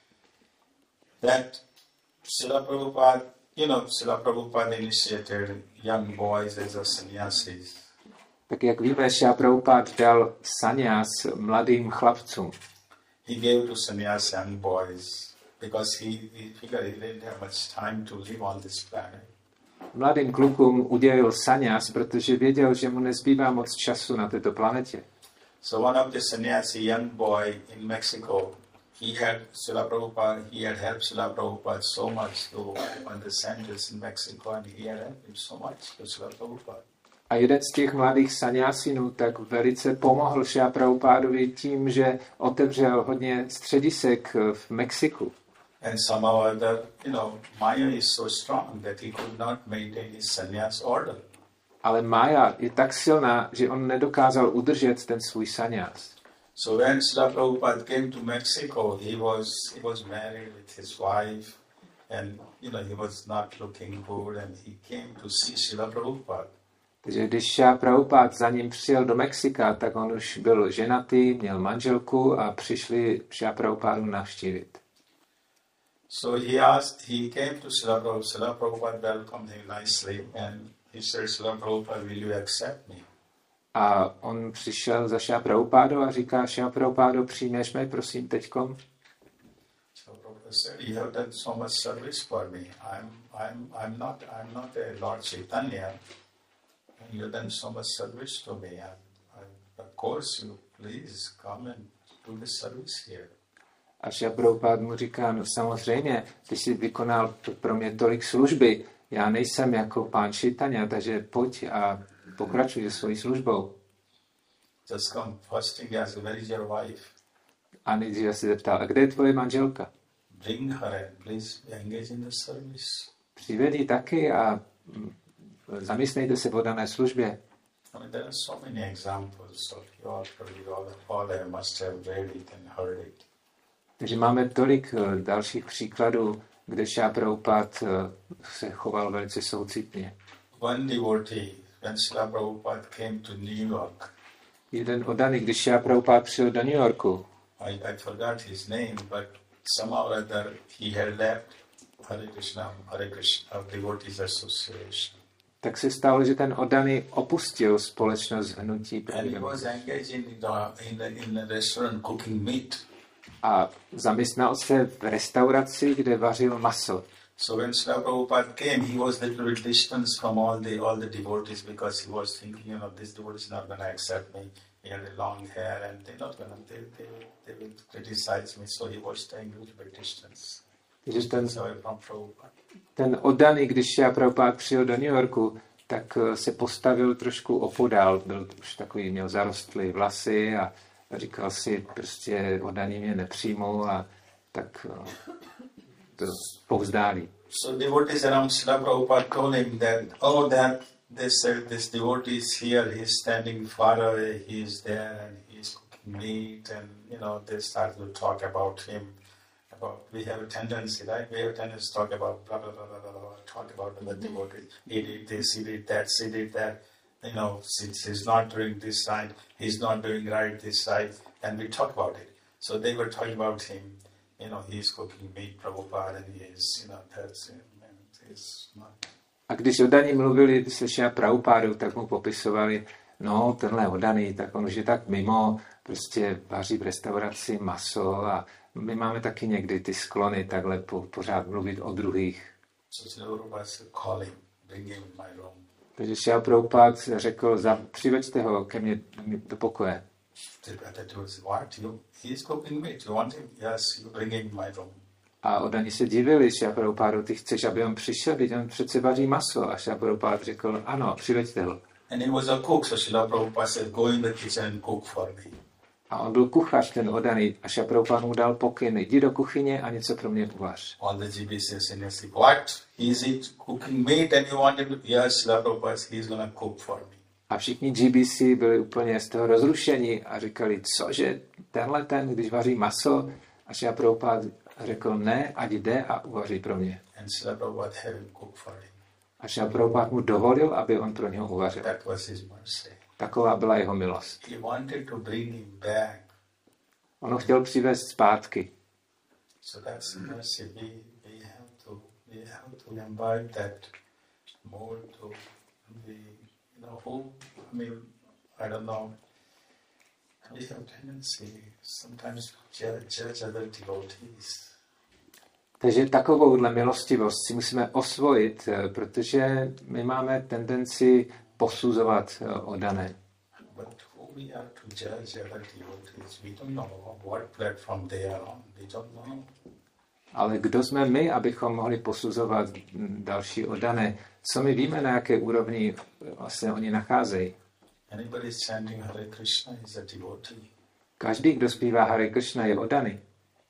That Srila Prabhupada, you know, Srila Prabhupada initiated young boys as a sannyasis. Tak jak víme, Srila Prabhupada dal sannyas mladým chlapcům. He gave to sannyas young boys. because he, he figured he didn't have much time to live on this planet. Mladým klukům udělil saňas, protože věděl, že mu nezbývá moc času na této planetě. So one of the sannyasi, young boy in Mexico, he had Srila Prabhupada, he had helped Srila Prabhupada so much to open the centers in Mexico, and he had helped him so much to Srila Prabhupada. A jeden z těch mladých saňásinů tak velice pomohl Šrila Prabhupádovi tím, že otevřel hodně středisek v Mexiku. And somehow or other, you know, Maya is so strong that he could not maintain his sannyas order. Ale Maya je tak silná, že on nedokázal udržet ten svůj saňás. So when Srila Prabhupada came to Mexico, he was he was married with his wife, and you know he was not looking good, and he came to see Srila Prabhupada. Takže když Šrila Prabhupád za ním přijel do Mexika, tak on už byl ženatý, měl manželku a přišli Šrila Prabhupádu navštívit. So he asked, he came to Srila Prabhupada, Srila Prabhupada welcomed him nicely, and he said, Srila Prabhupada, will you accept me? A on přišel za Šrila Prabhupádou a říká, Šrila Prabhupádo, přijmeš mě, prosím, teďkom? Srila Prabhupada said, you have done so much service for me. I'm, I'm, I'm not, I'm not a Lord Chaitanya, and you have done so much service to me. And, and of course, you please come and do the service here. A Šrila Prabhupád mu říká, no samozřejmě, ty jsi vykonal pro mě tolik služby, já nejsem jako pán Chaitanya, takže pojď a pokračuj se svojí službou. Just come. First thing, ask, where is your wife? A nejdříve se zeptal, a kde je tvoje manželka? Bring her and please engage in the service. Přived ji taky a mm, zaměstnejte se v dané službě. I mean, there are so many examples of you all, you all, all I must have read it and heard it. Takže máme tolik uh, dalších příkladů, kde Šrila Prabhupád uh, se choval velice soucitně. One devotee, when Srila Prabhupada came to New York, Jeden oddaný, když Šrila Prabhupád přijel do New Yorku, I, I forgot his name, but somehow or other he had left Hare Krishna, Hare Krishna Devotees Association. tak se stalo, že ten oddaný opustil společnost hnutí And he Prabhupada was engaged in the, in the, in the restaurant cooking meat. a zaměstnal se v restauraci, kde vařil maso. So when Srila Prabhupada came, he was a little bit distant from all the all the devotees because he was thinking, you know, this devotee is not going to accept me. He had a long hair and they're not going to, they, they, they will criticize me. So he was staying a little bit distance. Takže ten, So from Prabhupada. ten oddaný, když Šrila Prabhupád přijel do New Yorku, tak uh, se postavil trošku opodál. Byl už takový, měl zarostlé vlasy a říkal si, prostě oddaný mě nepřijmou a tak uh, to povzdálí. So devotees around Srila Prabhupada told him that, oh, that they said this devotee is here, he's standing far away, he's there and he's cooking meat, and you know, they started to talk about him. About, we have a tendency, right? We have a tendency to talk about blah blah blah blah blah, blah talk about the devotees. He did this, he did that, she did that. You know, since he's not doing this side, he's not doing right this side, and we talk about it. So they were talking about him. You know, he's cooking meat, Prabhupada, and he is, you know, that's him, and he's not. A když oddaní mluvili se Šrila Prabhupádou, tak mu popisovali, no, tenhle oddaný, tak on už je tak mimo, prostě vaří v restauraci maso a my máme taky někdy ty sklony takhle po, pořád mluvit o druhých. So Srila Prabhupada said, call him, bring him in my room. Takže Šrila Prabhupád řekl, za, přiveďte ho ke mně do pokoje. That was what you, he's cooking meat, you want him? Yes, you bring him in my room. A oddaní se divili, Šrila Prabhupádu, ty chceš, aby on přišel, teď on přece vaří maso. A Šrila Prabhupád řekl, ano, přiveďte ho. And he was a cook, so Srila Prabhupada said, go in the kitchen and cook for me. A on byl kuchař, ten oddaný, a Šrila Prabhupád mu dal pokyn, jdi do kuchyně a něco pro mě uvař. All the G B Cs in his what? Is it cooking meat and you want him to? Yes, Srila Prabhupada, he's going to cook for me. A všichni G B C byli úplně z toho rozrušení a říkali, cože, tenhle ten, když vaří maso, a Šrila Prabhupád řekl, ne, ať jde a uvaří pro mě. And Srila Prabhupada had him cook for him. A Šrila Prabhupád mu dovolil, aby on pro něho uvařil. That was his mercy. Taková byla jeho milost. He wanted to bring him back. On ho chtěl přivést zpátky. So that's mercy. We, we have to we have to imbibe that more to be, you know, who, I mean, I don't know. We have tendency sometimes to judge, judge other devotees. Takže takovouhle milostivost si musíme osvojit, protože my máme tendenci posuzovat oddané. But who we are to judge other devotees? We don't know what platform they are on. We don't know. Ale kdo jsme my, abychom mohli posuzovat další oddané? Co my víme, na jaké úrovni vlastně oni nacházejí? Anybody chanting Hare Krishna is a devotee. Každý, kdo zpívá Hare Krishna, je oddaný.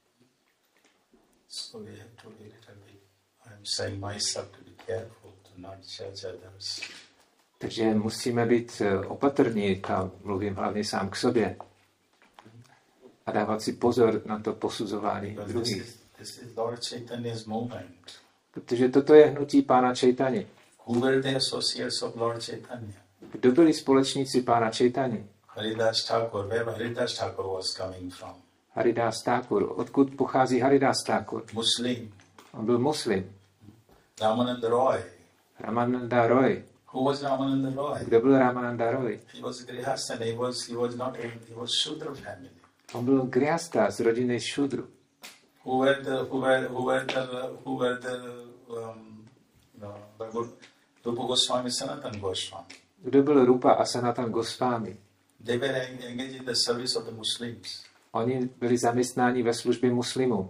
So we have to be a little bit, I'm saying myself to be careful to not judge others. Takže musíme být opatrní, a mluvím hlavně sám k sobě. A dávat si pozor na to posuzování Because this druhých. is, this is Lord Chaitanya's movement. Protože toto je hnutí pána Chaitanya. Who were the associates of Lord Chaitanya? Kdo byli společníci pána Chaitanya? Haridas Thakur. Where Haridas Thakur was coming from? Haridas Thakur. Odkud pochází Haridas Thakur? Muslim. On byl muslim. Ramananda Roy. Ramananda Roy. Who was Ramananda Roy? Kdo byl Ramananda Roy? He was Grihastha. He was, he was not, a, he was Shudra family. On byl Grihasta z rodiny Šudru. Who were the, who were, who were the, who were the, um, no, the good, Rupa Goswami, Sanatana Goswami. Kdo byl Rupa a Sanatan Goswami? They were engaged in the service of the Muslims. Oni byli zaměstnáni ve službě muslimů.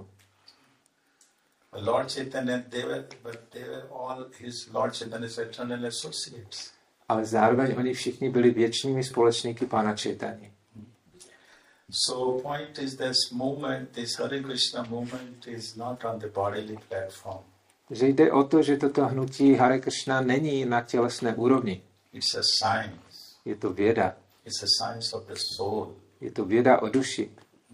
Lord Chaitanya, they were, but they were all his Lord Chaitanya's eternal associates. Ale zároveň oni všichni byli věčnými společníky pána Chaitanya. So point is this movement, this Hare Krishna movement is not on the bodily platform. Že jde o to, že toto hnutí Hare Krishna není na tělesné úrovni. It's a science. Je to věda. It's a science of the soul. Je to věda o duši.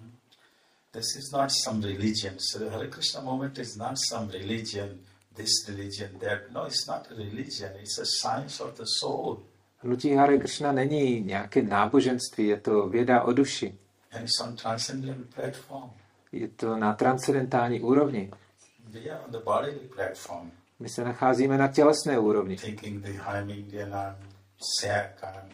This is not some religion. So the Hare Krishna movement is not some religion, this religion, that. No, it's not a religion. It's a science of the soul. Hnutí Hare Krishna není nějaké náboženství, je to věda o duši. And it's on transcendental platform. Je to na transcendentální úrovni. We are on the bodily platform. My se nacházíme na tělesné úrovni. Thinking the I'm Indian, I'm Sikh, I'm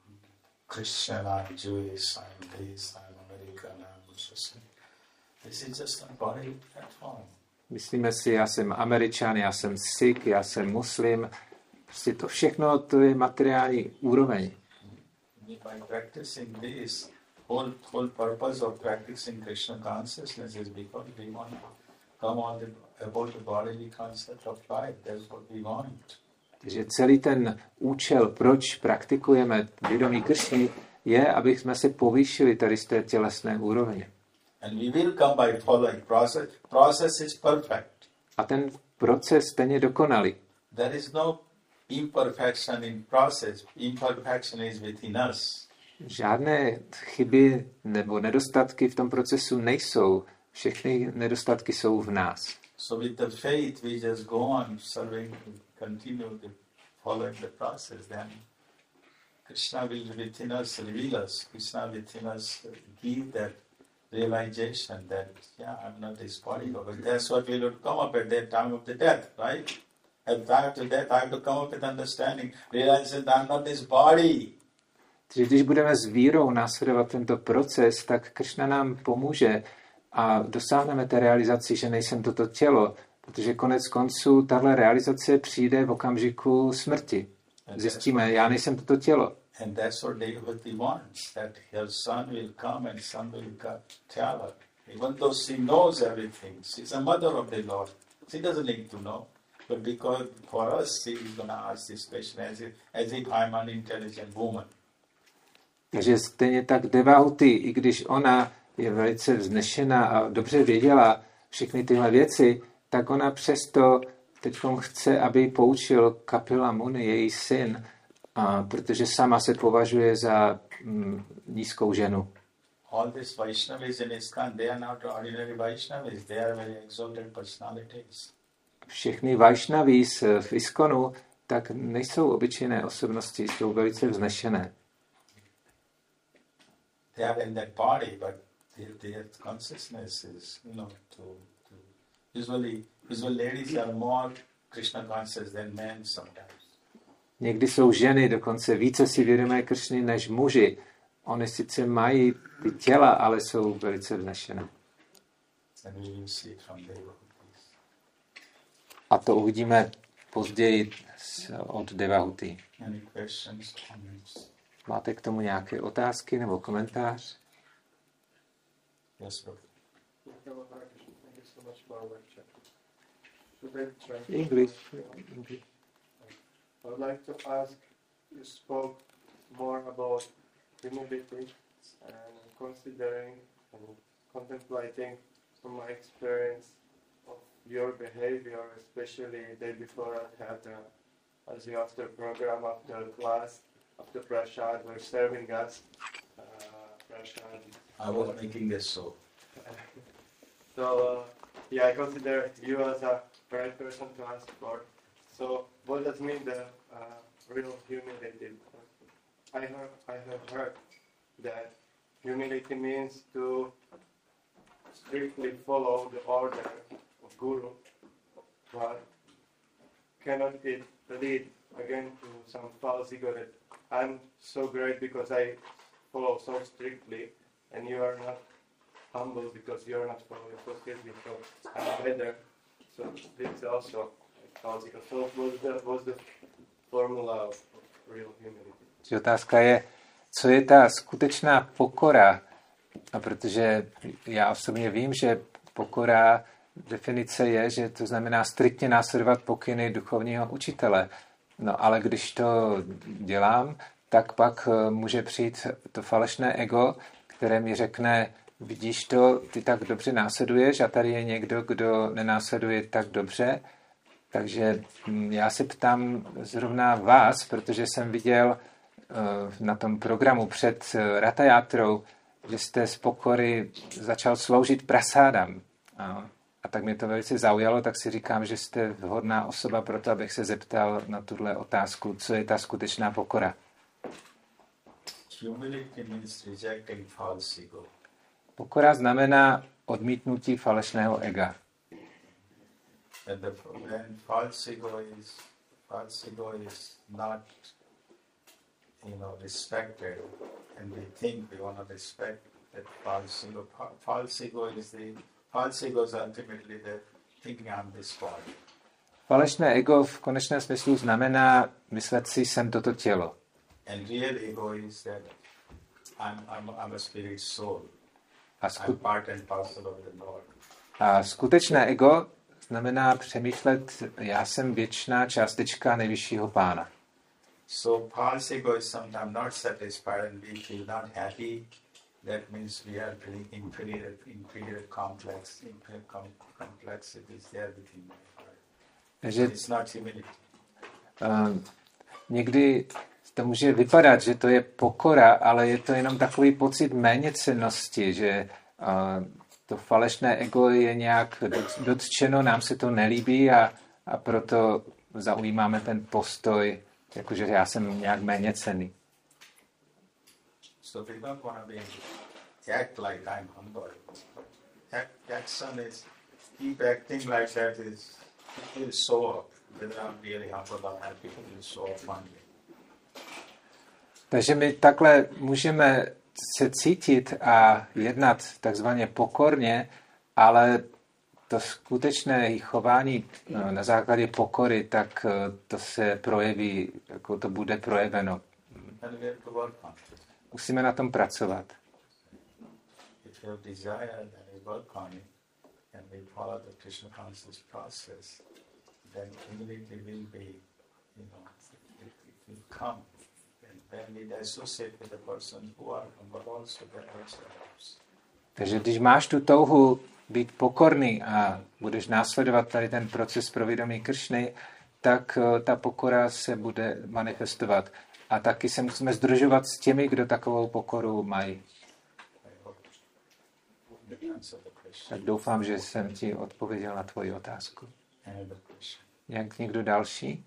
Christian, I'm Jewish, I'm this, I'm American, I'm Muslim. This is just a bodily platform. Myslíme si, já jsem Američan, já jsem Sikh, já jsem Muslim. Prostě to všechno, to je materiální úroveň. By practicing this, whole whole purpose of practicing Krishna consciousness is because we want to come on the, about the bodily concept of life. That's what we want. Takže celý ten účel, proč praktikujeme vědomí Kršny, je, aby jsme se povýšili tady z té tělesné úrovně. And we will come by following process. Process is perfect. A ten proces stejně dokonalý. There is no imperfection in process. Imperfection is within us. Žádné chyby nebo nedostatky v tom procesu nejsou. Všechny nedostatky jsou v nás. So with the faith, we just go on serving, continue the following the process. Then Krishna will within us reveal us. Krishna within us give that realization that, yeah, I'm not this body. But that's what will come up at that time of the death, right? At the time of the death, I have to come up with understanding, realizing that I'm not this body. Takže když budeme s vírou následovat tento proces, tak Kršna nám pomůže a dosáhneme té realizaci, že nejsem toto tělo, protože konec konců tahle realizace přijde v okamžiku smrti. Zjistíme, já nejsem toto tělo. And that's what Devavati wants, that her son will come and son will tell her. Even though she knows everything, she's a mother of the Lord. She doesn't need to know. But because for us, she is going to ask this question as if, as if I'm an intelligent woman. Takže stejně tak Devahuti, i když ona je velice vznešená a dobře věděla všechny tyhle věci, tak ona přesto teď chce, aby poučil Kapila Muni, její syn, a protože sama se považuje za mm, nízkou ženu. All these Vaishnavis in ISKCON, they are not ordinary Vaishnavis, they are very exalted personalities. Všechny Vaishnavis v ISKCONu tak nejsou obyčejné osobnosti, jsou velice vznešené. They are in that body, but their, their consciousness is, you know, to, to usually, usually ladies are more Krishna conscious than men sometimes. Někdy jsou ženy dokonce více si vědomé Kršny než muži. Oni sice mají ty těla, ale jsou velice vznešené. And we will see from there. A to uvidíme později od Devahuti. Any questions, comments? Máte k tomu nějaké otázky nebo komentář? Yes, bro. Thank you so much for our lecture. Should I try? English. I would like to ask, you spoke more about humility and considering and contemplating from my experience of your behavior, especially the day before I had the, as you after program, after class, after prashad, were serving us uh, prashad. I was making this so. So, uh, yeah, I consider you as a right person to ask for. So, what does mean the uh, real humility? I have, I have heard that humility means to strictly follow the order of Guru, but cannot it lead again to some false ego that I'm so great because I follow so strictly, and you are not humble because you are not following so strictly, so I'm better. So this is also a false ego. So what's the, what's the formula of real humility? Otázka je, co je ta skutečná pokora, a protože já osobně vím, že pokora, definice je, že to znamená striktně následovat pokyny duchovního učitele. No ale když to dělám, tak pak může přijít to falešné ego, které mi řekne, vidíš to, ty tak dobře následuješ a tady je někdo, kdo nenásleduje tak dobře. Takže já se ptám zrovna vás, protože jsem viděl na tom programu před Ratajátrou, že jste z pokory začal sloužit prasádám. A, a tak mě to velice zaujalo, tak si říkám, že jste vhodná osoba pro to, abych se zeptal na tuhle otázku, co je ta skutečná pokora. Humility means rejecting false ego. Pokora znamená odmítnutí falešného ega. And the, when false ego is false ego is not, you know, respected, and we think we want to respect that false ego. False ego is the false ego is ultimately the thinking I'm this body. Falešné ego v konečném smyslu znamená myslet si, jsem toto tělo. And real ego is that I'm I'm I'm a spirit soul. A, I'm sku- part and parcel of the Lord. a skutečné ego znamená přemýšlet, já jsem věčná částečka nejvyššího pána. So false ego is sometimes not satisfied and we feel not happy. That means we are feeling inferior, inferior complex, inferior com- complexities there within my heart. Takže It's not humility. uh, někdy to může vypadat, že to je pokora, ale je to jenom takový pocit méněcennosti, že uh, to falešné ego je nějak dotčeno, nám se to nelíbí a, a proto zaujímáme ten postoj, jakože já jsem nějak méněcenný. So we don't want to be act like I'm humble. Act, action is keep acting like that is feel so up. Whether I'm really humble or happy, feel so up one day. Takže my takhle můžeme se cítit a jednat takzvaně pokorně, ale to skutečné chování na základě pokory, tak to se projeví, jako to bude projeveno. And we have to work on it. Musíme na tom pracovat. If you have desire, then we work on it, and we follow the Krishna conscious process, then humility will be, you know, it, it will come. And when we associate with the person who are humble also, that also helps. Takže když máš tu touhu být pokorný a budeš následovat tady ten proces pro vědomí Kršny, tak ta pokora se bude manifestovat. A taky se musíme združovat s těmi, kdo takovou pokoru mají. Tak doufám, že jsem ti odpověděl na tvoji otázku. Jak někdo další?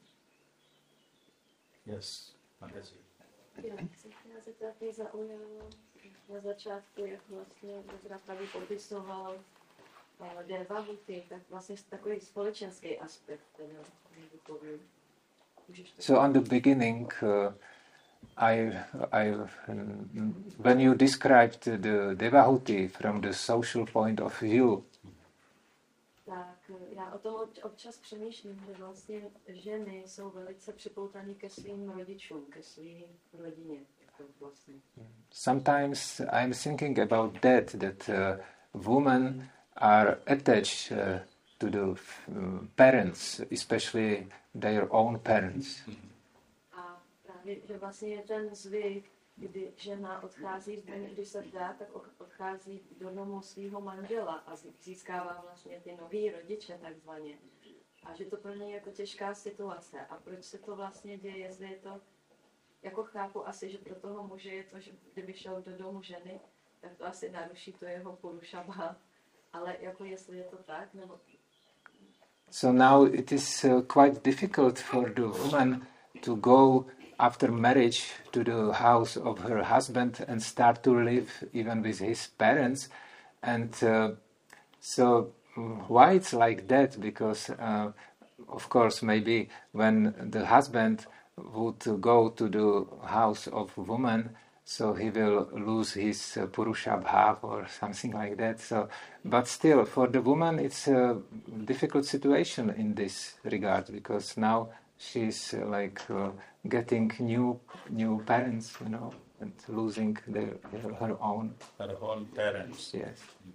Yes, Mataji. Já jsem chtěla zeptat, mě zaujalo na začátku, jak vlastně Pravý popisoval Devahuti, tak vlastně takový společenský aspekt teda duchovní. So on the beginning, uh, I, I, when you described the Devahuti from the social point of view, tak já o tom občas přemýšlím, že vlastně ženy jsou velice připoutané ke svým rodičům, ke svým rodině. Vlastně. Sometimes I'm thinking about that, that uh, women are attached uh, to the uh, parents, especially their own parents. A právě, že vlastně je ten zvyk, kdy žena odchází z domu, když se dá, tak odchází do domu svého manžela a získává vlastně ty nový rodiče takzvaně. A že to pro něj je jako těžká situace. A proč se to vlastně děje, jestli je to, jako chápu asi, že pro toho muže je to, že kdyby šel do domu ženy, tak to asi naruší to jeho puruša bhav. Ale jako jestli je to tak, nebo... So now it is uh, quite difficult for the woman to go after marriage to the house of her husband and start to live even with his parents. And uh, so why it's like that? Because uh, of course maybe when the husband would go to the house of woman, so he will lose his uh, purusha bhav or something like that. So, but still, for the woman, it's a difficult situation in this regard, because now she's uh, like uh, getting new new parents, you know, and losing their, their, her own. Her own parents. Yes.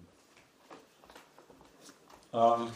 Um,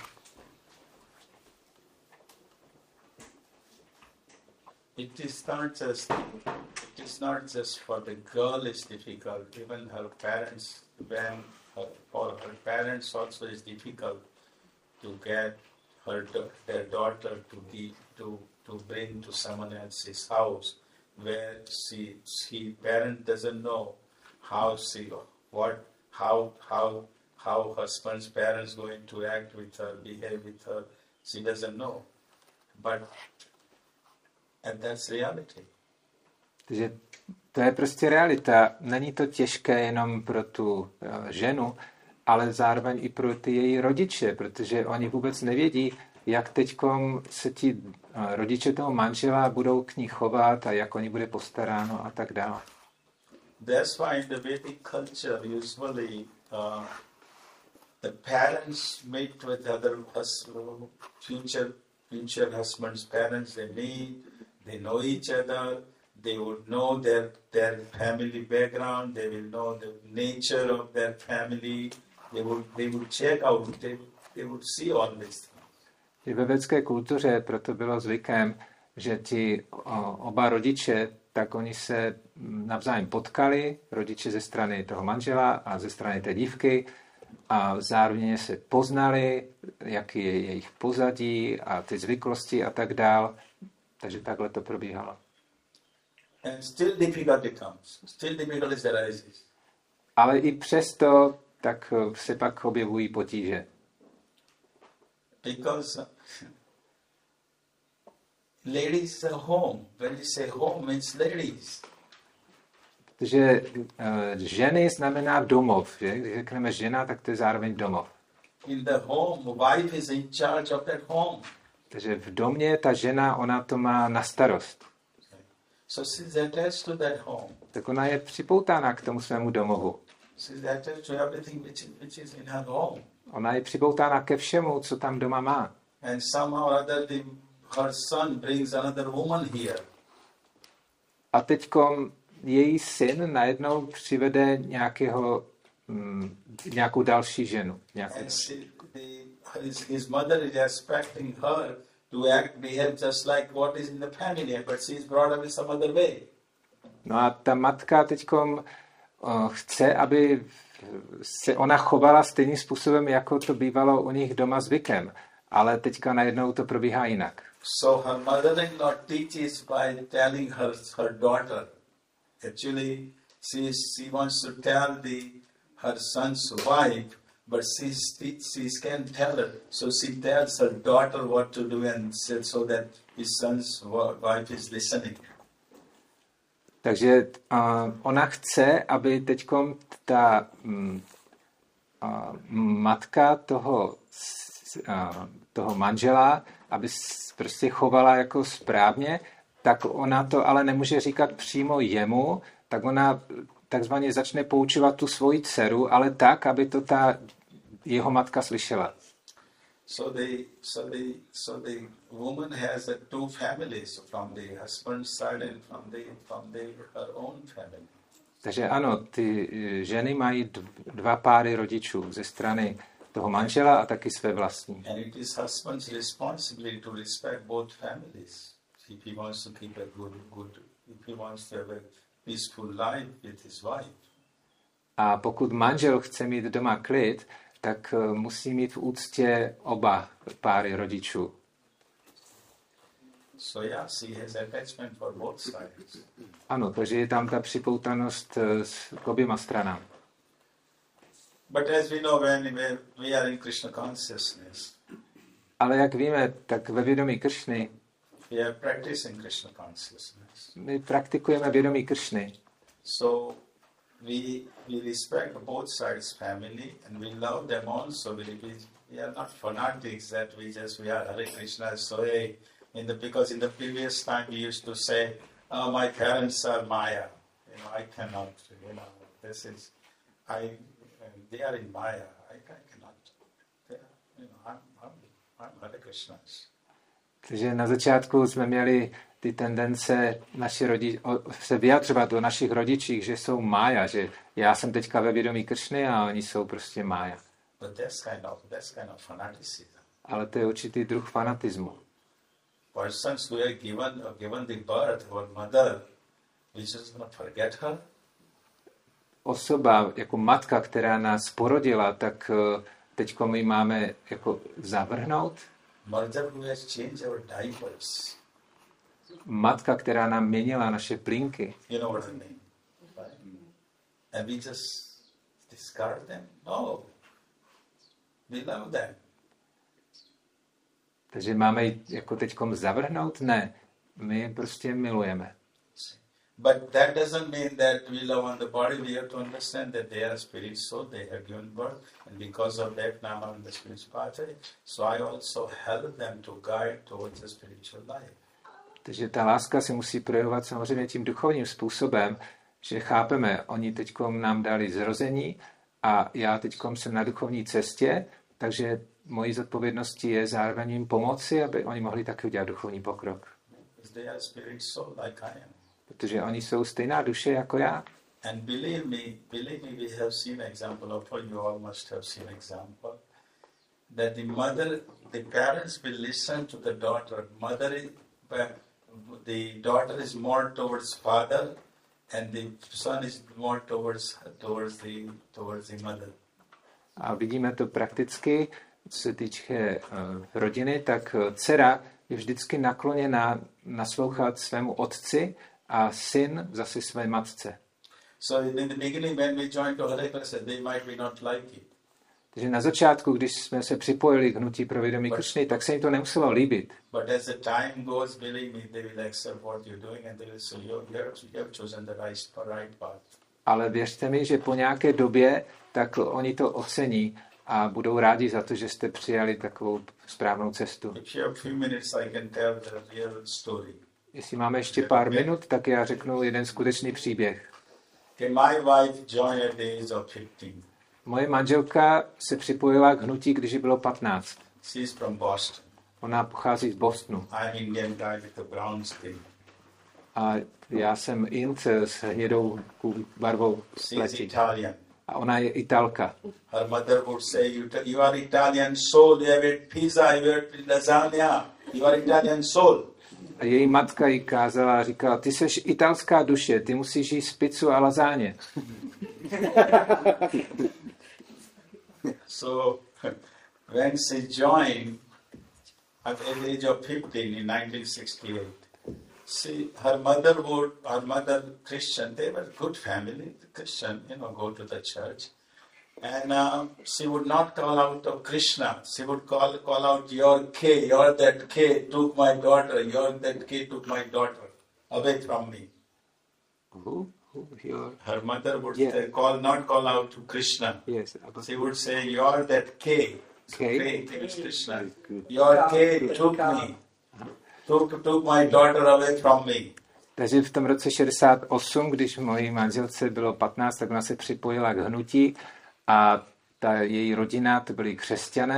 it is not just it is not just for the girl is difficult. Even her parents, when her, for her parents also is difficult to get her their daughter to be to to bring to someone else's house, where she she parent doesn't know how she what how how how husband's parents going to act with her, behave with her. She doesn't know, but and that's reality. Takže to je prostě realita. Není to těžké jenom pro tu ženu, ale zároveň i pro ty její rodiče, protože oni vůbec nevědí, jak teďkom se ti rodiče toho manžela budou k ní chovat a jak o ní bude postaráno a tak dále. That's why in the Vedic culture usually uh, the parents meet with other hus- future future husbands' parents. They meet, they know each other. They would know their their family background. They will know the nature of their family. They would they would check out. They they would see all this. I ve védské kultuře proto bylo zvykem, že ti o, oba rodiče, tak oni se navzájem potkali, rodiče ze strany toho manžela a ze strany té dívky, a zároveň se poznali, jaký je jejich pozadí a ty zvyklosti a tak dál. Takže takhle to probíhalo. And still difficulty comes. Still difficulties arises. Ale i přesto tak se pak objevují potíže. Because ladies are home. When you say home, means ladies. Protože uh, ženy znamená domov. Že? Když řekneme žena, tak to je zároveň domov. In the home, wife is in charge of that home. Takže v domě ta žena, ona to má na starost. So she's attached to that home. Tak ona je připoutána k tomu svému domovu. She's attached to everything which is, which is in her home. Ona je připoutána ke všemu, co tam doma má. And somehow or other, the, her son brings another woman here. A teďkom její syn najednou přivede nějakého, mm, nějakou další ženu. Nějakou. And she, the, his, his mother is expecting her to act, behave just like what is in the family, but she's brought up in some other way. No a ta matka teďkom uh, chce, aby se ona chovala stejným způsobem, jako to bývalo u nich doma zvykem. Ale teďka najednou to probíhá jinak. So her mother-in-law teaches by telling her, her daughter. Actually, she, she wants to tell the, her son's wife, but she, she can't tell her. So she tells her daughter what to do and said so that his son's wife is listening. Takže uh, ona chce, aby teďkom ta um, uh, matka toho, uh, toho manžela, aby prostě chovala jako správně, tak ona to ale nemůže říkat přímo jemu, tak ona takzvaně začne poučovat tu svoji dceru, ale tak, aby to ta jeho matka slyšela. So the so the so the woman has a two families from the husband's side and from the from the her own family. Takže ano, ty ženy mají dva páry rodičů ze strany toho manžela a taky své vlastní. And it is husband's responsibility to respect both families. If he wants to keep a good good if he wants to have a peaceful life with his wife. A pokud manžel chce mít doma klid, tak musí mít v úctě oba páry rodičů. So yes, he has attachment for both sides. Ano, takže je tam ta připoutanost k oběma stranám. But as we know, when we are in Krishna consciousness, ale jak víme, tak ve vědomí Kršny we are practicing Krishna consciousness. My praktikujeme vědomí Kršny. So we we respect both sides family and we love them also. We, we, we are not fanatics that we just we are Hare Krishna. So hey, in the because in the previous time we used to say, oh, my parents are Maya. You know, I cannot. You know, this is I. They are in Maya. I, I cannot. They are, you know, I'm I'm I'm Hare Krishna. Takže na začátku jsme měli ty tendence naši rodi- se vyjadřovat o našich rodičích, že jsou mája, že já jsem teďka ve vědomí Kršny a oni jsou prostě mája. But that's kind of that's kind of fanaticism. Ale to je určitý druh fanatismu. Persons who are given or given the birth or mother, we just not forget her. Osoba jako matka, která nás porodila, tak teďko my máme jako zavrhnout. Mother who has changed our diapers. Matka, která nám měnila naše plínky. You know what I mean? Right? And we just discard them? No. We love them. Takže máme ji jako teďkom zavrhnout? Ne. My je prostě milujeme. But that doesn't mean that we love on the body. We have to understand that they are spirit soul. They have given birth. And because of that, now I'm in the spiritual pathway. So I also help them to guide towards the spiritual life. Takže ta láska se musí projevovat samozřejmě tím duchovním způsobem, že chápeme, oni teďkom nám dali zrození a já teďkom jsem na duchovní cestě, takže mojí zodpovědností je zároveň jim pomoci, aby oni mohli taky udělat duchovní pokrok. They are spirit soul like I am. Protože oni jsou stejná duše jako já. And believe me, believe me, we have seen example of it. You all must have seen example that the mother, the parents will listen to the daughter. Mother, is, the daughter is more towards father, and the son is more towards towards the towards the mother. A vidíme to prakticky, co se týče uh, rodiny, tak uh, dcera je vždycky nakloněná naslouchat svému otci a syn zase své matce. So in the beginning when we joined to Hare Krishna, they might be not like it. Takže na začátku, když jsme se připojili k hnutí pro vědomí Kršny, tak se jim to nemuselo líbit. But as the time goes, believe me, they will accept what you're doing and they will say, you have chosen the right, right path. Ale věřte mi, že po nějaké době, tak oni to ocení a budou rádi za to, že jste přijali takovou správnou cestu. If you have few minutes, I can tell the real story. Jestli máme ještě pár minut, tak já řeknu jeden skutečný příběh. Okay, my wife joined at the age of fifteen. Moje manželka se připojila k hnutí, když jí bylo patnáct. She is from Boston. Ona pochází z Bostonu. I'm Indian guy with a brown skin. A já jsem Int s hnědou barvou She is pleti. Italian. A ona je Italka. Her mother would say, you, you are Italian soul, you have ate pizza, you have ate lasagna, you are Italian soul. A její matka jí kázala a říkala, ty seš italská duše, ty musíš jíst pizzu a lazáně. So when she joined at the age of fifteen in nineteen sixty-eight, she, her mother would, her mother Christian, they were good family, Christian, you know, go to the church. And uh, she would not call out of Krishna. She would call call out, your K, your that K took my daughter, your that K took my daughter away from me. Who? Who? Your... Her mother would Yeah. say, call not call out to Krishna. Yes. She would say, you're that K. K? K, K is Krishna. Your K took me. Took, took my daughter away from me. Takže v tom roce šedesát osm, když mojí manželce bylo patnáct, tak ona se připojila k hnutí a ta její rodina, to byli křesťané,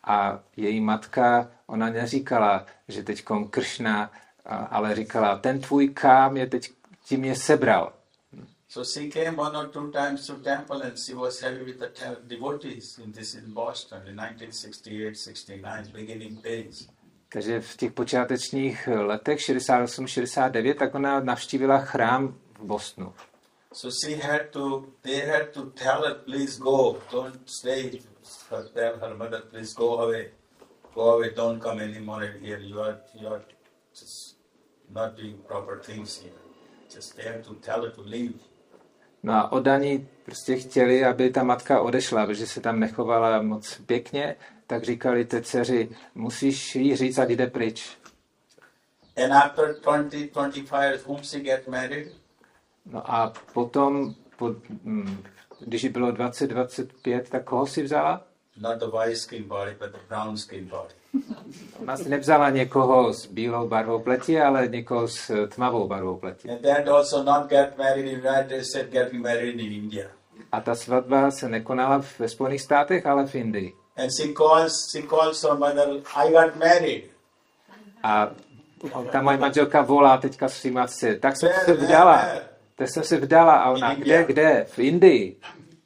A její matka, ona neříkala, že teďkom Kršna, ale říkala, ten tvůj kám je teď, ti mě sebral. So she came one or two times to temple and she was heavy with the devotees in this in Boston in nineteen sixty-eight sixty-nine, beginning days. Takže v těch počátečních letech šedesát osm šedesát devět, tak ona navštívila chrám v Bostonu. So she had to, they had to tell her, please go, don't stay. Her, tell her mother, please go away, go away, don't come anymore here. You are, you are just not doing proper things here. Just they had to tell her to leave. No a oddaní prostě chtěli, aby ta matka odešla, protože se tam nechovala moc pěkně, tak říkali té dceři, musíš jí říct, ať jde pryč. And after twenty, twenty-five years, whom she get married? No a potom, po, hm, když jí bylo dvacet dvacet pět, tak koho si vzala? Not the white skin body, but the brown skin body. Ona si nevzala někoho s bílou barvou pleti, ale někoho s tmavou barvou pleti. And that also not get married in United States, getting married in India. A ta svatba se nekonala ve Spojených státech, ale v Indii. And she calls, she calls her mother, I got married. A ta moje manželka volá teďka svým matce, tak jsem se vdala. Tak jsem se vdala a ona, kde, kde? V Indii.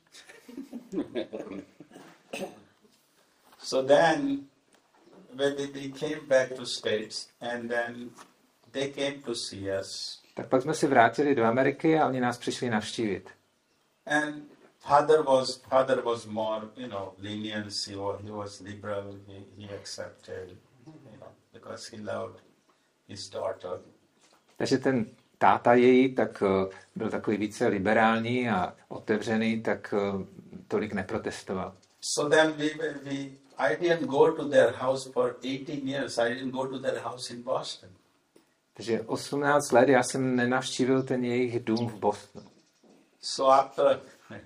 So then, when we came back to States, and then they came to see us. Tak pak jsme se vrátili do Ameriky a oni nás přišli navštívit. And father was father was more, you know, lenient. He was, he was liberal. He, he accepted, you know, because he loved his daughter. Takže ten táta její tak byl takový více liberální a otevřený, tak tolik neprotestoval. So then we, we I didn't go to their house for eighteen years. I didn't go to their house in Boston. Takže osmnáct let já jsem nenavštívil ten jejich dům v Bostonu. So after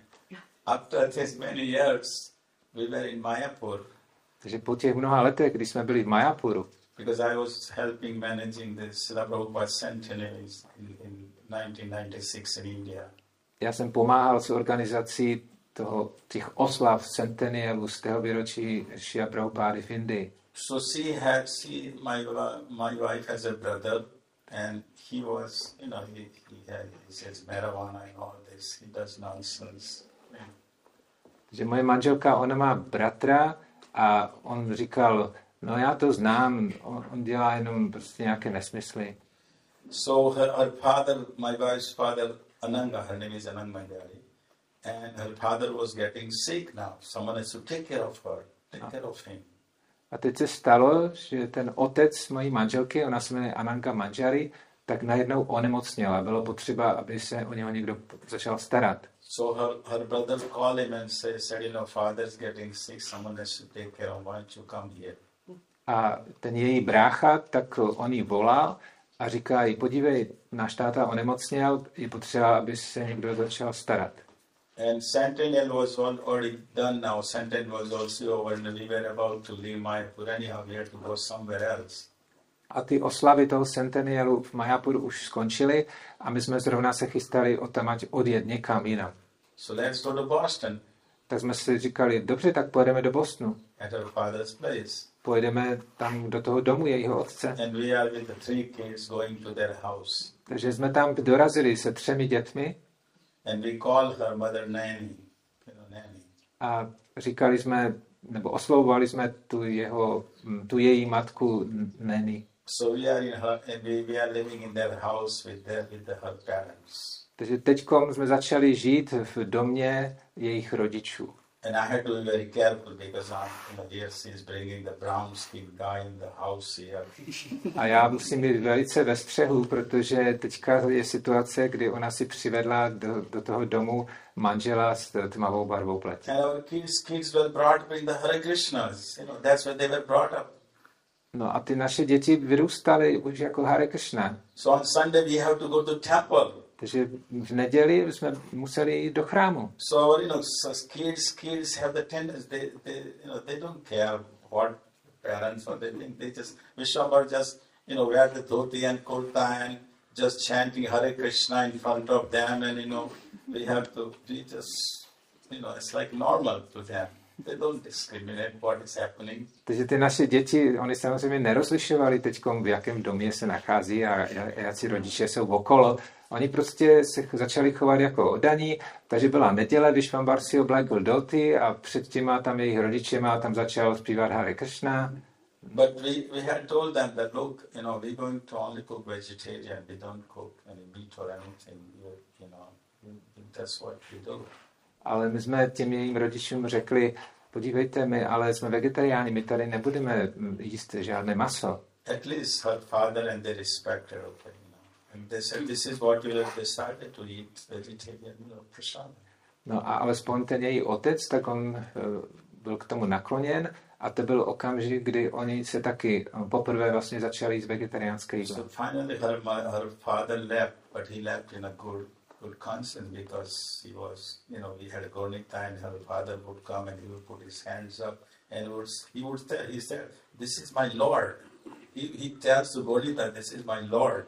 after this many years, we were in Mayapur. Takže po těch mnoha letech, když jsme byli v Mayapuru, because I was helping managing the Srila Prabhupada centenaries in, in nineteen ninety-six in India. Já jsem pomáhal s organizací toho, těch oslav centenialu z tého výročí Srila Prabhupády v Indii. So she had, she, my, my wife has a brother, and he was, you know, he, he, had, he says marijuana and all this. He does nonsense. Takže moje manželka, ona má bratra a on říkal, no já to znám, on, on dělá jenom prostě nějaké nesmysly. So her, her father, my wife's father, Ananga, her name is Anang Mandari, and her father was getting sick now. Someone has to take care of her, take care of him. A teď se stalo, že ten otec mojí manželky, ona se jmenuje Ananga Manjari, tak najednou onemocněla. Bylo potřeba, aby se o něho někdo začal starat. So her, her brother called him and say, said, you know, father's getting sick, someone has to take care of him, why don't you come here? A ten její brácha, tak on jí volal a říká jí, podívej, náš táta onemocněl, je potřeba, aby se někdo začal starat. And Centennial was already done now. Centennial was also over and we were about to leave Mayapur. Anyhow, we had to go somewhere else. A ty oslavy toho centenialu v Mayapuru už skončily a my jsme zrovna se chystali odtamať odjet někam jinam. So let's go to Boston. Tak jsme si říkali, dobře, tak pojedeme do Bostonu. At her father's place. Pojedeme tam do toho domu jejího otce. And we are with the three kids going to their house. Takže jsme tam dorazili se třemi dětmi. And we call her mother Nanny. You know, Nanny. A říkali jsme, nebo oslovovali jsme tu, jeho, tu její matku Nanny. So we are in her, and we, we are living in their house with their, with the, her parents. Takže teďkom jsme začali žít v domě jejich rodičů. And I had to be very careful because I'm, you know, here she is bringing the brown skinned guy in the house here. A já musím být velice ve střehu, protože teďka je situace, kdy ona si přivedla do, do toho domu manžela s tmavou barvou pleti. And our kids, kids were brought up in the Hare Krishnas. You know, that's where they were brought up. No a ty naše děti vyrůstaly už jako Hare Krishna. So on Sunday we have to go to temple. Takže v neděli jsme museli jít do chrámu. So, you know, so kids, kids have the tendency, they, they, you know, they don't care what parents or they think. They just, Vishwambar just, you know, wear the dhoti and kurta and just chanting Hare Krishna in front of them, and, you know, we have to, we just, you know, it's like normal to them. They don't discriminate what is happening. Takže ty naše děti, oni samozřejmě nerozlišovali teď, v jakém domě se nachází a jací rodiče jsou okolo. Oni prostě se začali chovat jako oddaní, takže byla neděle, když pan Bar si oblékl doty a před těma tam jejich rodičema tam začal zpívat Hare Krishna. But we, we had told them that, look, you know, we're going to only cook vegetarian, we don't cook any meat or anything, you, you know, that's what we do. Ale my jsme těm jejím rodičům řekli, podívejte, my ale jsme vegetariáni, my tady nebudeme jíst žádné maso. At least her father and they respected her, you know. And they said, this is what you have decided to eat, vegetarian, you know, prasad. No a alespoň ten její otec, tak on uh, byl k tomu nakloněn a to byl okamžik, kdy oni se taky poprvé vlastně začali jíst vegetariánské jídlo. So finally her, her father left, but he left in a good good conscience because he was, you know, he had a Gornita and her father would come and he would put his hands up and would, he would tell, he said, this is my Lord. He, he tells to Gornita, this is my Lord.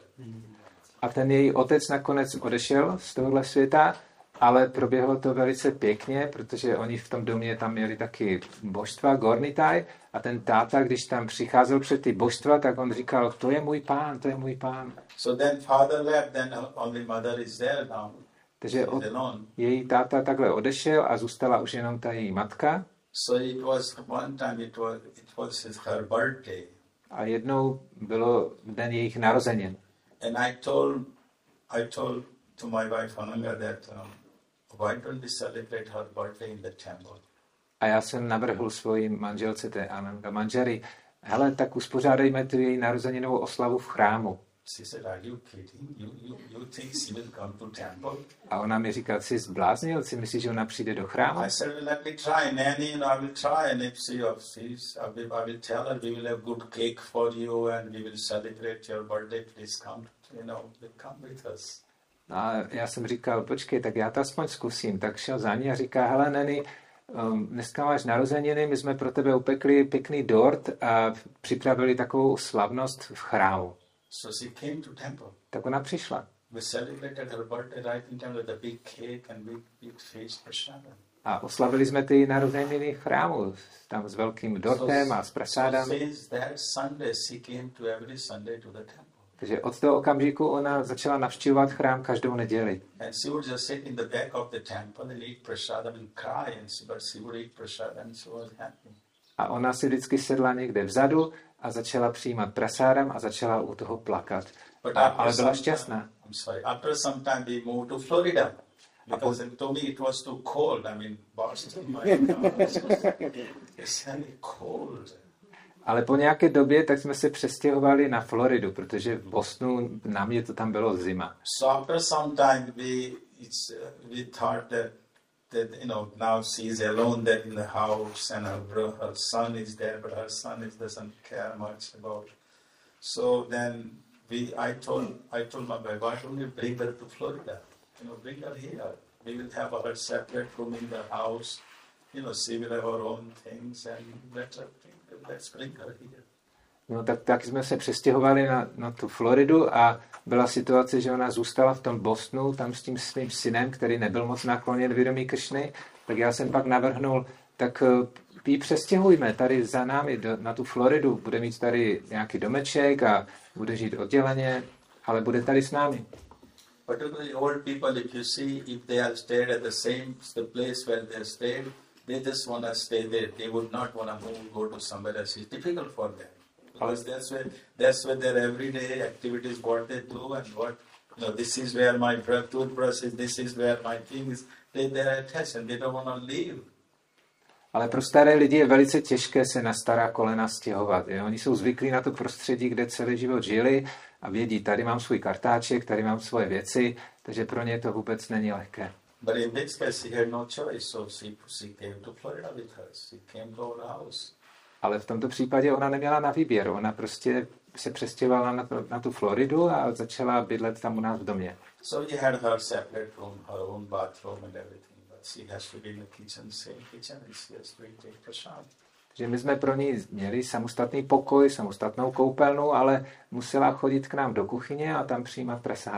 A ten její otec nakonec odešel z tohohle světa, ale proběhlo to velice pěkně, protože oni v tom domě tam měli taky božstva, Gornitaj, a ten táta, když tam přicházel před ty božstva, tak on říkal, to je můj pán, to je můj pán. So then father left, then only mother is there now. Takže od, její táta takhle odešel a zůstala už jenom ta její matka. So it was one time it was it was his, her birthday. A jednou bylo den jejich narozenin. And I told I told to my wife Ananga that um, why don't we celebrate her birthday in the temple? A já jsem navrhl svojí manželce, té Ananga Manžari, hele, tak uspořádejme tu její narozeninovou oslavu v chrámu. She said, are you kidding? You, you, you think she will come to temple? A ona mi říkala, jsi zbláznil, si myslíš, že ona přijde do chrámu? I said, well, let me try, Nanny, and I will try, and if she, if she's, I will, I will tell her, we will have good cake for you, and we will celebrate your birthday, please come, you know, come with us. A já jsem říkal, počkej, tak já to aspoň zkusím. Tak šel za ní a říká, hele, Neny, um, dneska máš narozeniny, my jsme pro tebe upekli pěkný dort a připravili takovou slavnost v chrámu. So she came to temple. Tak ona přišla. We celebrated her birthday right in temple with a big cake and big, big feast prasadam. A oslavili jsme ty narozeniny v chrámu, tam s velkým dortem a s prasádami. So since that Sunday, she came to every Sunday to the temple. Takže od toho okamžiku ona začala navštěvovat chrám každou neděli. And she would just sit in the back of the temple and eat prasadam and cry, and she, but she would eat prasadam and she was happy. A ona si vždycky sedla někde vzadu a začala přijímat prasádam a začala u toho plakat. A, ale byla šťastná. I'm sorry. After some time, we moved to Florida because to me it was too cold. I mean, Boston, my God, it's really cold. Ale po nějaké době tak jsme se přestěhovali na Floridu, protože v Bostonu na mě to tam bylo zima. So after some time, we it's, uh, we thought that that you know now she's alone there in the house and her bro, her son is there, but her son is doesn't care much about. So then we I told I told my wife, why don't you bring her to Florida? You know, bring her here. We will have her separate room in the house. You know, she will have her own things and let her bring, let's bring her here. No tak, tak jsme se přestěhovali na, na tu Floridu a byla situace, že ona zůstala v tom Bostonu, tam s tím svým synem, který nebyl moc nakloněn vědomí Krišny, tak já jsem pak navrhnul, tak ji přestěhujme tady za námi do, na tu Floridu, bude mít tady nějaký domeček a bude žít odděleně, ale bude tady s námi. But to the old people, if you see, if they have stayed at the same the place where they stayed, they just want to stay there. They would not want to move, go to somewhere else. It's difficult for them. Because that's where that's where their everyday activities, what they do and what, you know, this is where my toothbrush is, this is where my thing is. They, they're attached and they don't want to leave. Ale pro staré lidi je velice těžké se na stará kolena stěhovat. Jo? Oni jsou zvyklí na to prostředí, kde celý život žili a vědí, tady mám svůj kartáček, tady mám svoje věci, takže pro ně to vůbec není lehké. But in this case, he had no choice, so she, she came to Florida with us. She came to our house. Ale v tomto případě ona neměla na výběr. Ona prostě se přestěhovala na, to, na tu Floridu a začala bydlet tam u nás v domě. So he had her separate room, her own bathroom and everything. But she has to be in the kitchen, same kitchen, and she has to take prasad. Takže my jsme pro ní měli samostatný pokoj, samostatnou koupelnu, ale musela chodit k nám do kuchyně a tam přijímat prasádam.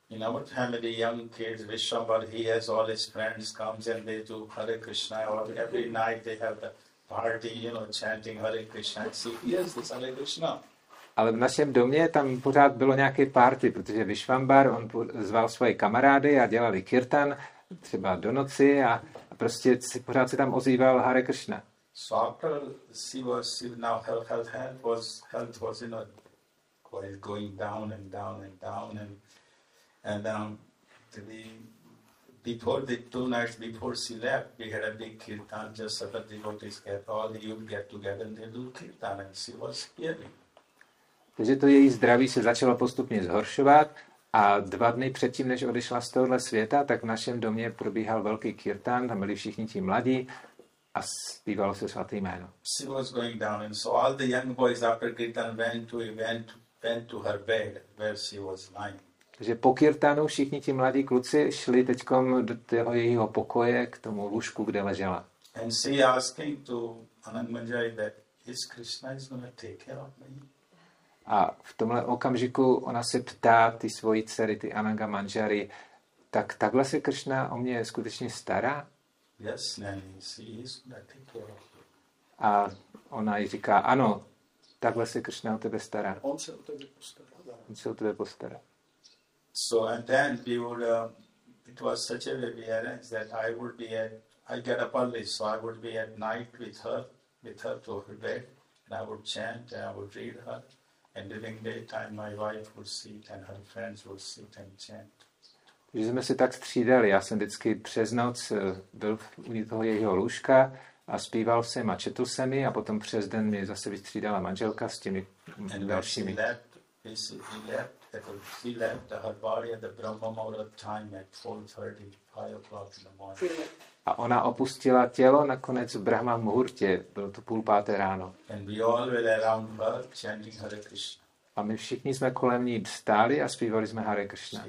In our family, young kids, Vishwambar, he has all his friends comes and they do Hare Krishna. Or every night they have the party, you know, chanting Hare Krishna. And see, yes, this Hare Krishna. Ale v našem domě tam pořád bylo nějaké party, protože Vishwambar, on zval svoje kamarády a dělali kirtan, třeba do noci a, a prostě si, pořád se tam ozýval Hare Krishna. So after she was, she now health, health, health was, health was, you know, going down and down and down and and um, the, before the two nights before she left, we had a big kirtan, just so that devotees get all the youth get together and they do kirtan, and she was hearing. Takže to její zdraví se začalo postupně zhoršovat a dva dny předtím, než odešla z tohohle světa, tak v našem domě probíhal velký kirtan, tam byli všichni ti mladí a zpívalo se svaté jméno. She was going down, and so all the young boys after kirtan went to went went to her bed where she was lying. Takže po kirtanu všichni ti mladí kluci šli teďkom do toho jejího pokoje k tomu lůžku, kde ležela. And she asking to Anand Manjari that is Krishna is going to take care of me. A v tomhle okamžiku ona se ptá ty svojí dcery, ty Ananga Manjari, tak takhle se Kršna o mě skutečně stará? Yes, Nanny, she is going to take care of you. A ona jí říká, ano, takhle se Kršna o tebe stará. On se o tebe postará. On se o tebe postará. So and then we would, uh, it was such a way we arranged that I would be at, I get up early, so I would be at night with her, with her to her bed, and I would chant and I would read her. And during daytime, my wife would sit and her friends would sit and chant. Takže jsme si tak střídali. Já jsem vždycky přes noc byl u toho jejího lůžka a zpíval jsem a četl jsem ji a potom přes den mě zase vystřídala manželka s těmi dalšími. A ona opustila tělo nakonec v Brahma Muhurtě, bylo to půl páté ráno. A my všichni jsme kolem ní stáli a zpívali jsme Hare Krishna.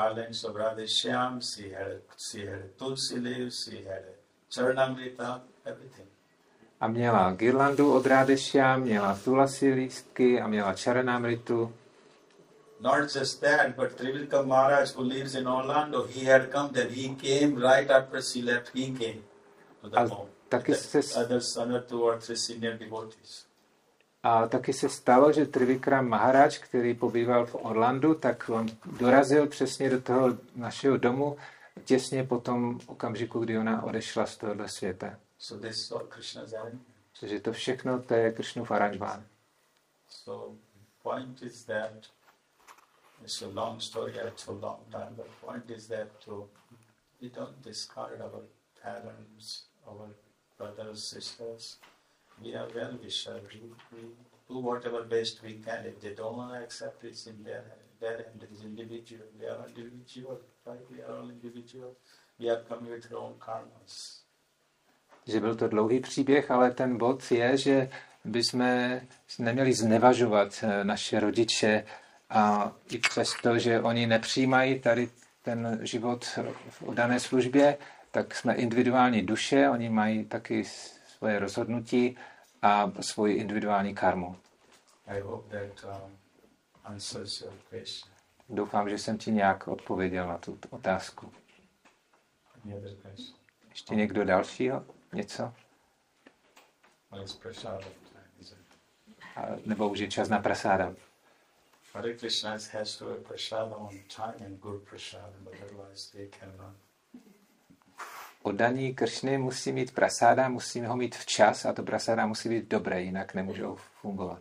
A měla girlandu od Radheshyam, měla tulasi lístky a měla charanamritu. Not just that, but Trivikram Maharaj, who lives in Orlando, he had come, then he came right after she left, he came to the home. Taky se, others, other two or three senior devotees. A taky se stalo, že Trivikram Maharaj, který pobýval v Orlandu, tak on dorazil přesně do toho našeho domu těsně po tom okamžiku, kdy ona odešla z tohohle světa. So this is all Krishna's arrangement. Takže to všechno, to je Krishnův aranžmán. So point is that it's a long story, it's a long time, but point is that to, we don't discard our parents, our brothers, sisters. We are well wishers. We, we do whatever best we can. If they don't want to accept it, it's in their their hand. It is individual. We are individual, right? We are all individual. We are coming with our own karmas. Že byl to dlouhý příběh, ale ten bod je, že bychom neměli znevažovat naše rodiče a i přesto, že oni nepřijímají tady ten život v dané službě, tak jsme individuální duše, oni mají taky svoje rozhodnutí a svoji individuální karmu. I hope that um, answers your question. Doufám, že jsem ti nějak odpověděl na tu otázku. Any other question? Ještě někdo dalšího? Něco? Well, it's prasada time, is it? A, nebo už je čas na prasáda. Hare Krishna has to have prasada on time and good prasada, otherwise they cannot. Oddaní Kršny musí mít prasáda, musí ho mít včas a to prasáda musí být dobré, jinak nemůžou fungovat.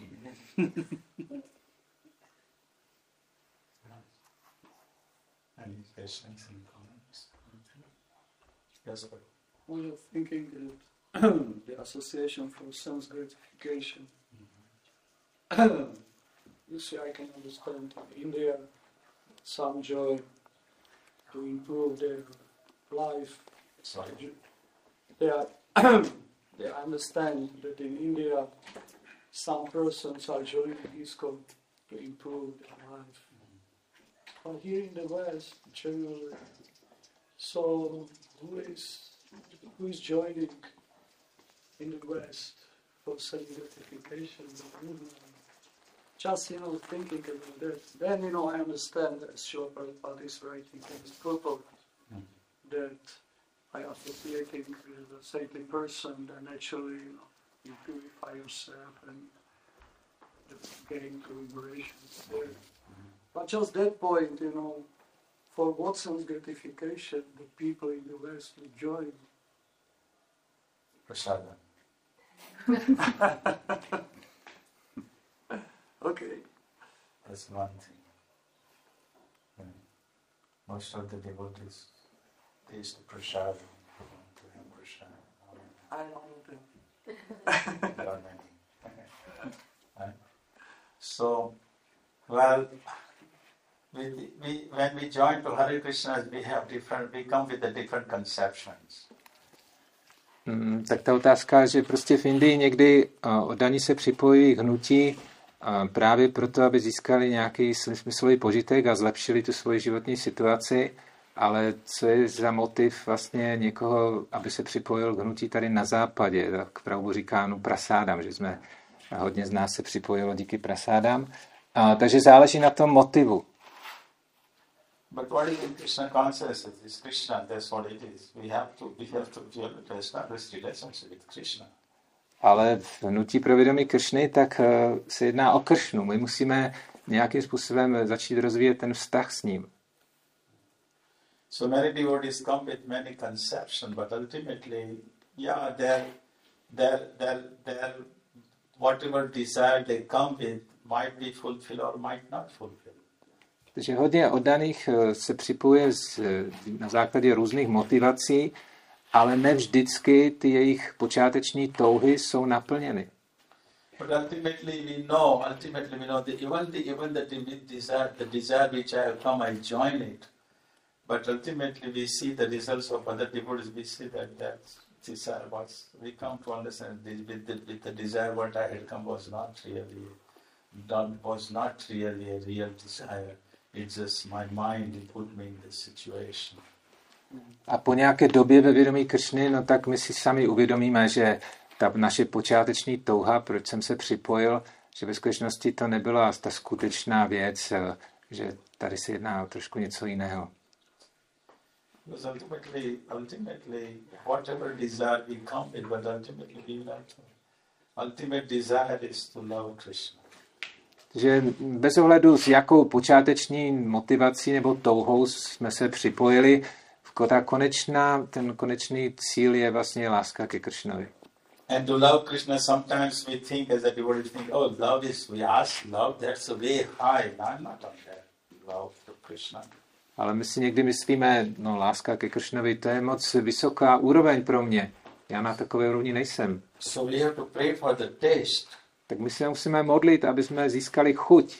Any questions and comments? Yes, sir. We are thinking that the Association for Sense Gratification, you see, I can understand in India some joy to improve their life. Sorry. They are, they understand that in India some persons are joining ISKCON to improve their life. But here in the West, generally, so who is who is joining in the West for self gratification? just, you know, thinking about that. Then, you know, I understand that Srila Prabhupada is writing in his purport Mm. that by associating with a saintly person, then actually, you know, you purify yourself and gain to liberation there. But just that point, you know, for Watson's gratification, the people in the West would join. Prasada. Okay. That's one thing. Yeah. Most of the devotees taste the prasad to him prasad. I don't know them. There are many. Right? So, well, we, we, when we join to Hare Krishna, we have different, we come with the different conceptions. Mm, tak ta otázka, že prostě v Indii někdy uh, oddaní se připojí k hnutí uh, právě proto, aby získali nějaký smyslový požitek a zlepšili tu svoji životní situaci, ale co je za motiv vlastně někoho, aby se připojil k hnutí tady na západě, tak Prabhu říká, no prasádám, že jsme hodně z nás se připojilo díky prasádám, uh, takže záleží na tom motivu. But what is in Krishna consciousness? It's Krishna, that's what it is. We have to, we have to, we have to establish relationship with Krishna. Ale v hnutí pro vědomí Kršny, tak uh, se jedná o Kršnu. My musíme nějakým způsobem začít rozvíjet ten vztah s ním. So many devotees come with many conceptions, but ultimately, yeah, their, their, their, their, whatever desire they come with might be fulfilled or might not fulfill. Takže hodně oddaných se připojuje z, na základě různých motivací, ale ne vždycky ty jejich počáteční touhy jsou naplněny. But ultimately we know, ultimately we know that even the even the desire, the desire which I have come, I join it. But ultimately we see the results of other devotees. We see that that desire was. We come to understand this, with the with the desire what I had come was not really, done was not really a real desire. It's just my mind that put me in this situation. A po nějaké době ve vědomí Kršny, no tak my si sami uvědomíme, že ta naše počáteční touha, proč jsem se připojil, že ve skutečnosti to nebyla ta skutečná věc, že tady se jedná o trošku něco jiného. Because ultimately, ultimately, whatever desire we come with, but ultimately we will have to. Ultimate desire is to love Krishna. Takže bez ohledu s jakou počáteční motivací nebo touhou jsme se připojili, ta konečná, ten konečný cíl je vlastně láska ke Kršnovi. And to love Krishna, sometimes we think as a devotee, think, oh, love is, we ask love, that's a way high. No, I'm not on that love to Krishna. Ale my si někdy myslíme, no láska ke Kršnovi, to je moc vysoká úroveň pro mě. Já na takové úrovni nejsem. So we have to pray for the taste. Tak my se musíme modlit, aby jsme získali chuť.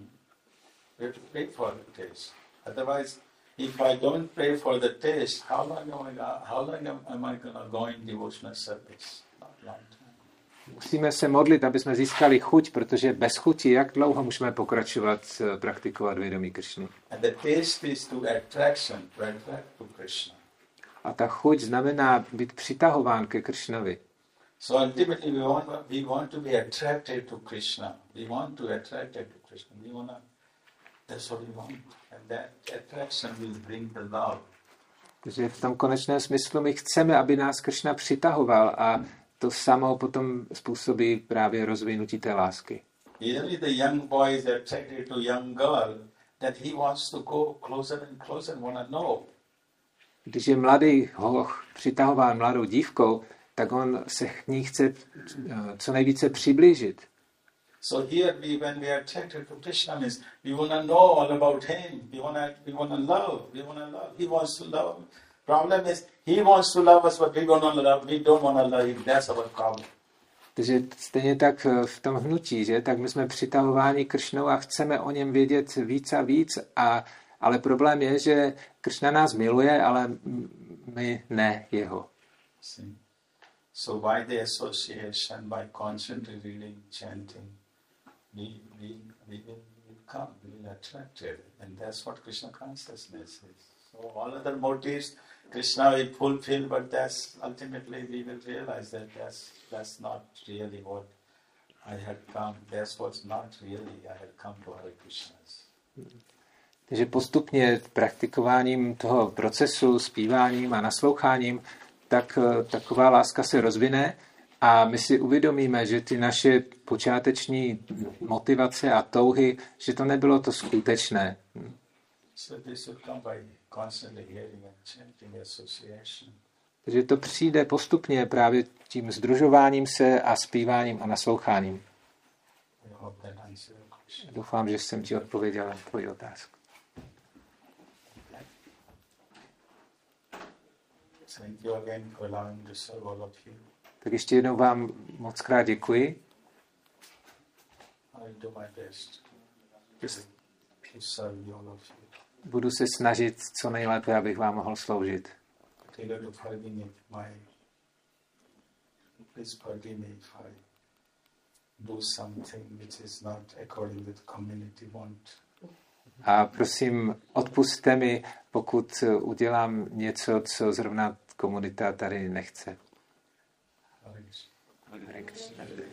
We have to pray for the taste. Otherwise, if I don't pray for the taste, how long am I, how long am I going to go in devotional service? Not long time. Musíme se modlit, aby jsme získali chuť, protože bez chuti, jak dlouho můžeme pokračovat praktikovat vědomí Kršny? And the taste is to attraction, to attract to Krishna. A ta chuť znamená být přitahován ke Kršnovi. So ultimately we want, we want to be attracted to Krishna. We want to attract to Krishna. We want to, that's what we want. And that attraction will bring the love. Takže v tom konečném smyslu my chceme, aby nás Kršna přitahoval a to samo potom způsobí právě rozvinutí té lásky. Usually the young boy is attracted to young girl, that he wants to go closer and closer and want to know. Když je mladý hoch přitahován mladou dívkou, tak on se k ní chce co nejvíce přiblížit. So here we, when we are attracted to Krishna, means we want to know all about him. We want to, we want to love. We want to love. He wants to love. Problem is, he wants to love us, but we don't want to love. We don't want to love him. That's our problem. Takže stejně tak v tom hnutí, že? Tak my jsme přitahováni Kršnou a chceme o něm vědět víc a víc, a, ale problém je, že Kršna nás miluje, ale my ne jeho. See? So by the association, by constantly reading, chanting, we, we, we will come, we will attract it. And that's what Krishna consciousness is. So all other motives, Krishna will fulfill, but that's ultimately we will realize that that's, that's not really what I had come, this was not really, I had come to Hare Krishna's. Takže postupně praktikováním toho procesu, zpíváním a nasloucháním, tak taková láska se rozvine a my si uvědomíme, že ty naše počáteční motivace a touhy, že to nebylo to skutečné. So this would come by constantly hearing and chanting association. Takže to přijde postupně právě tím sdružováním se a zpíváním a nasloucháním. I hope that answers your question. Doufám, že jsem ti odpověděl na tvoji otázku. Thank you again for allowing to serve all of you. Tak ještě jednou vám moc krát děkuji. I'll do my best to serve you all of you. Budu se snažit co nejlépe, abych vám mohl sloužit. Taylor to forgive me my please forgive me if I do something which is not according to the community want. A prosím, odpusťte mi, pokud udělám něco, co zrovna komunita tady nechce. Hare Krishna. Hare Krishna.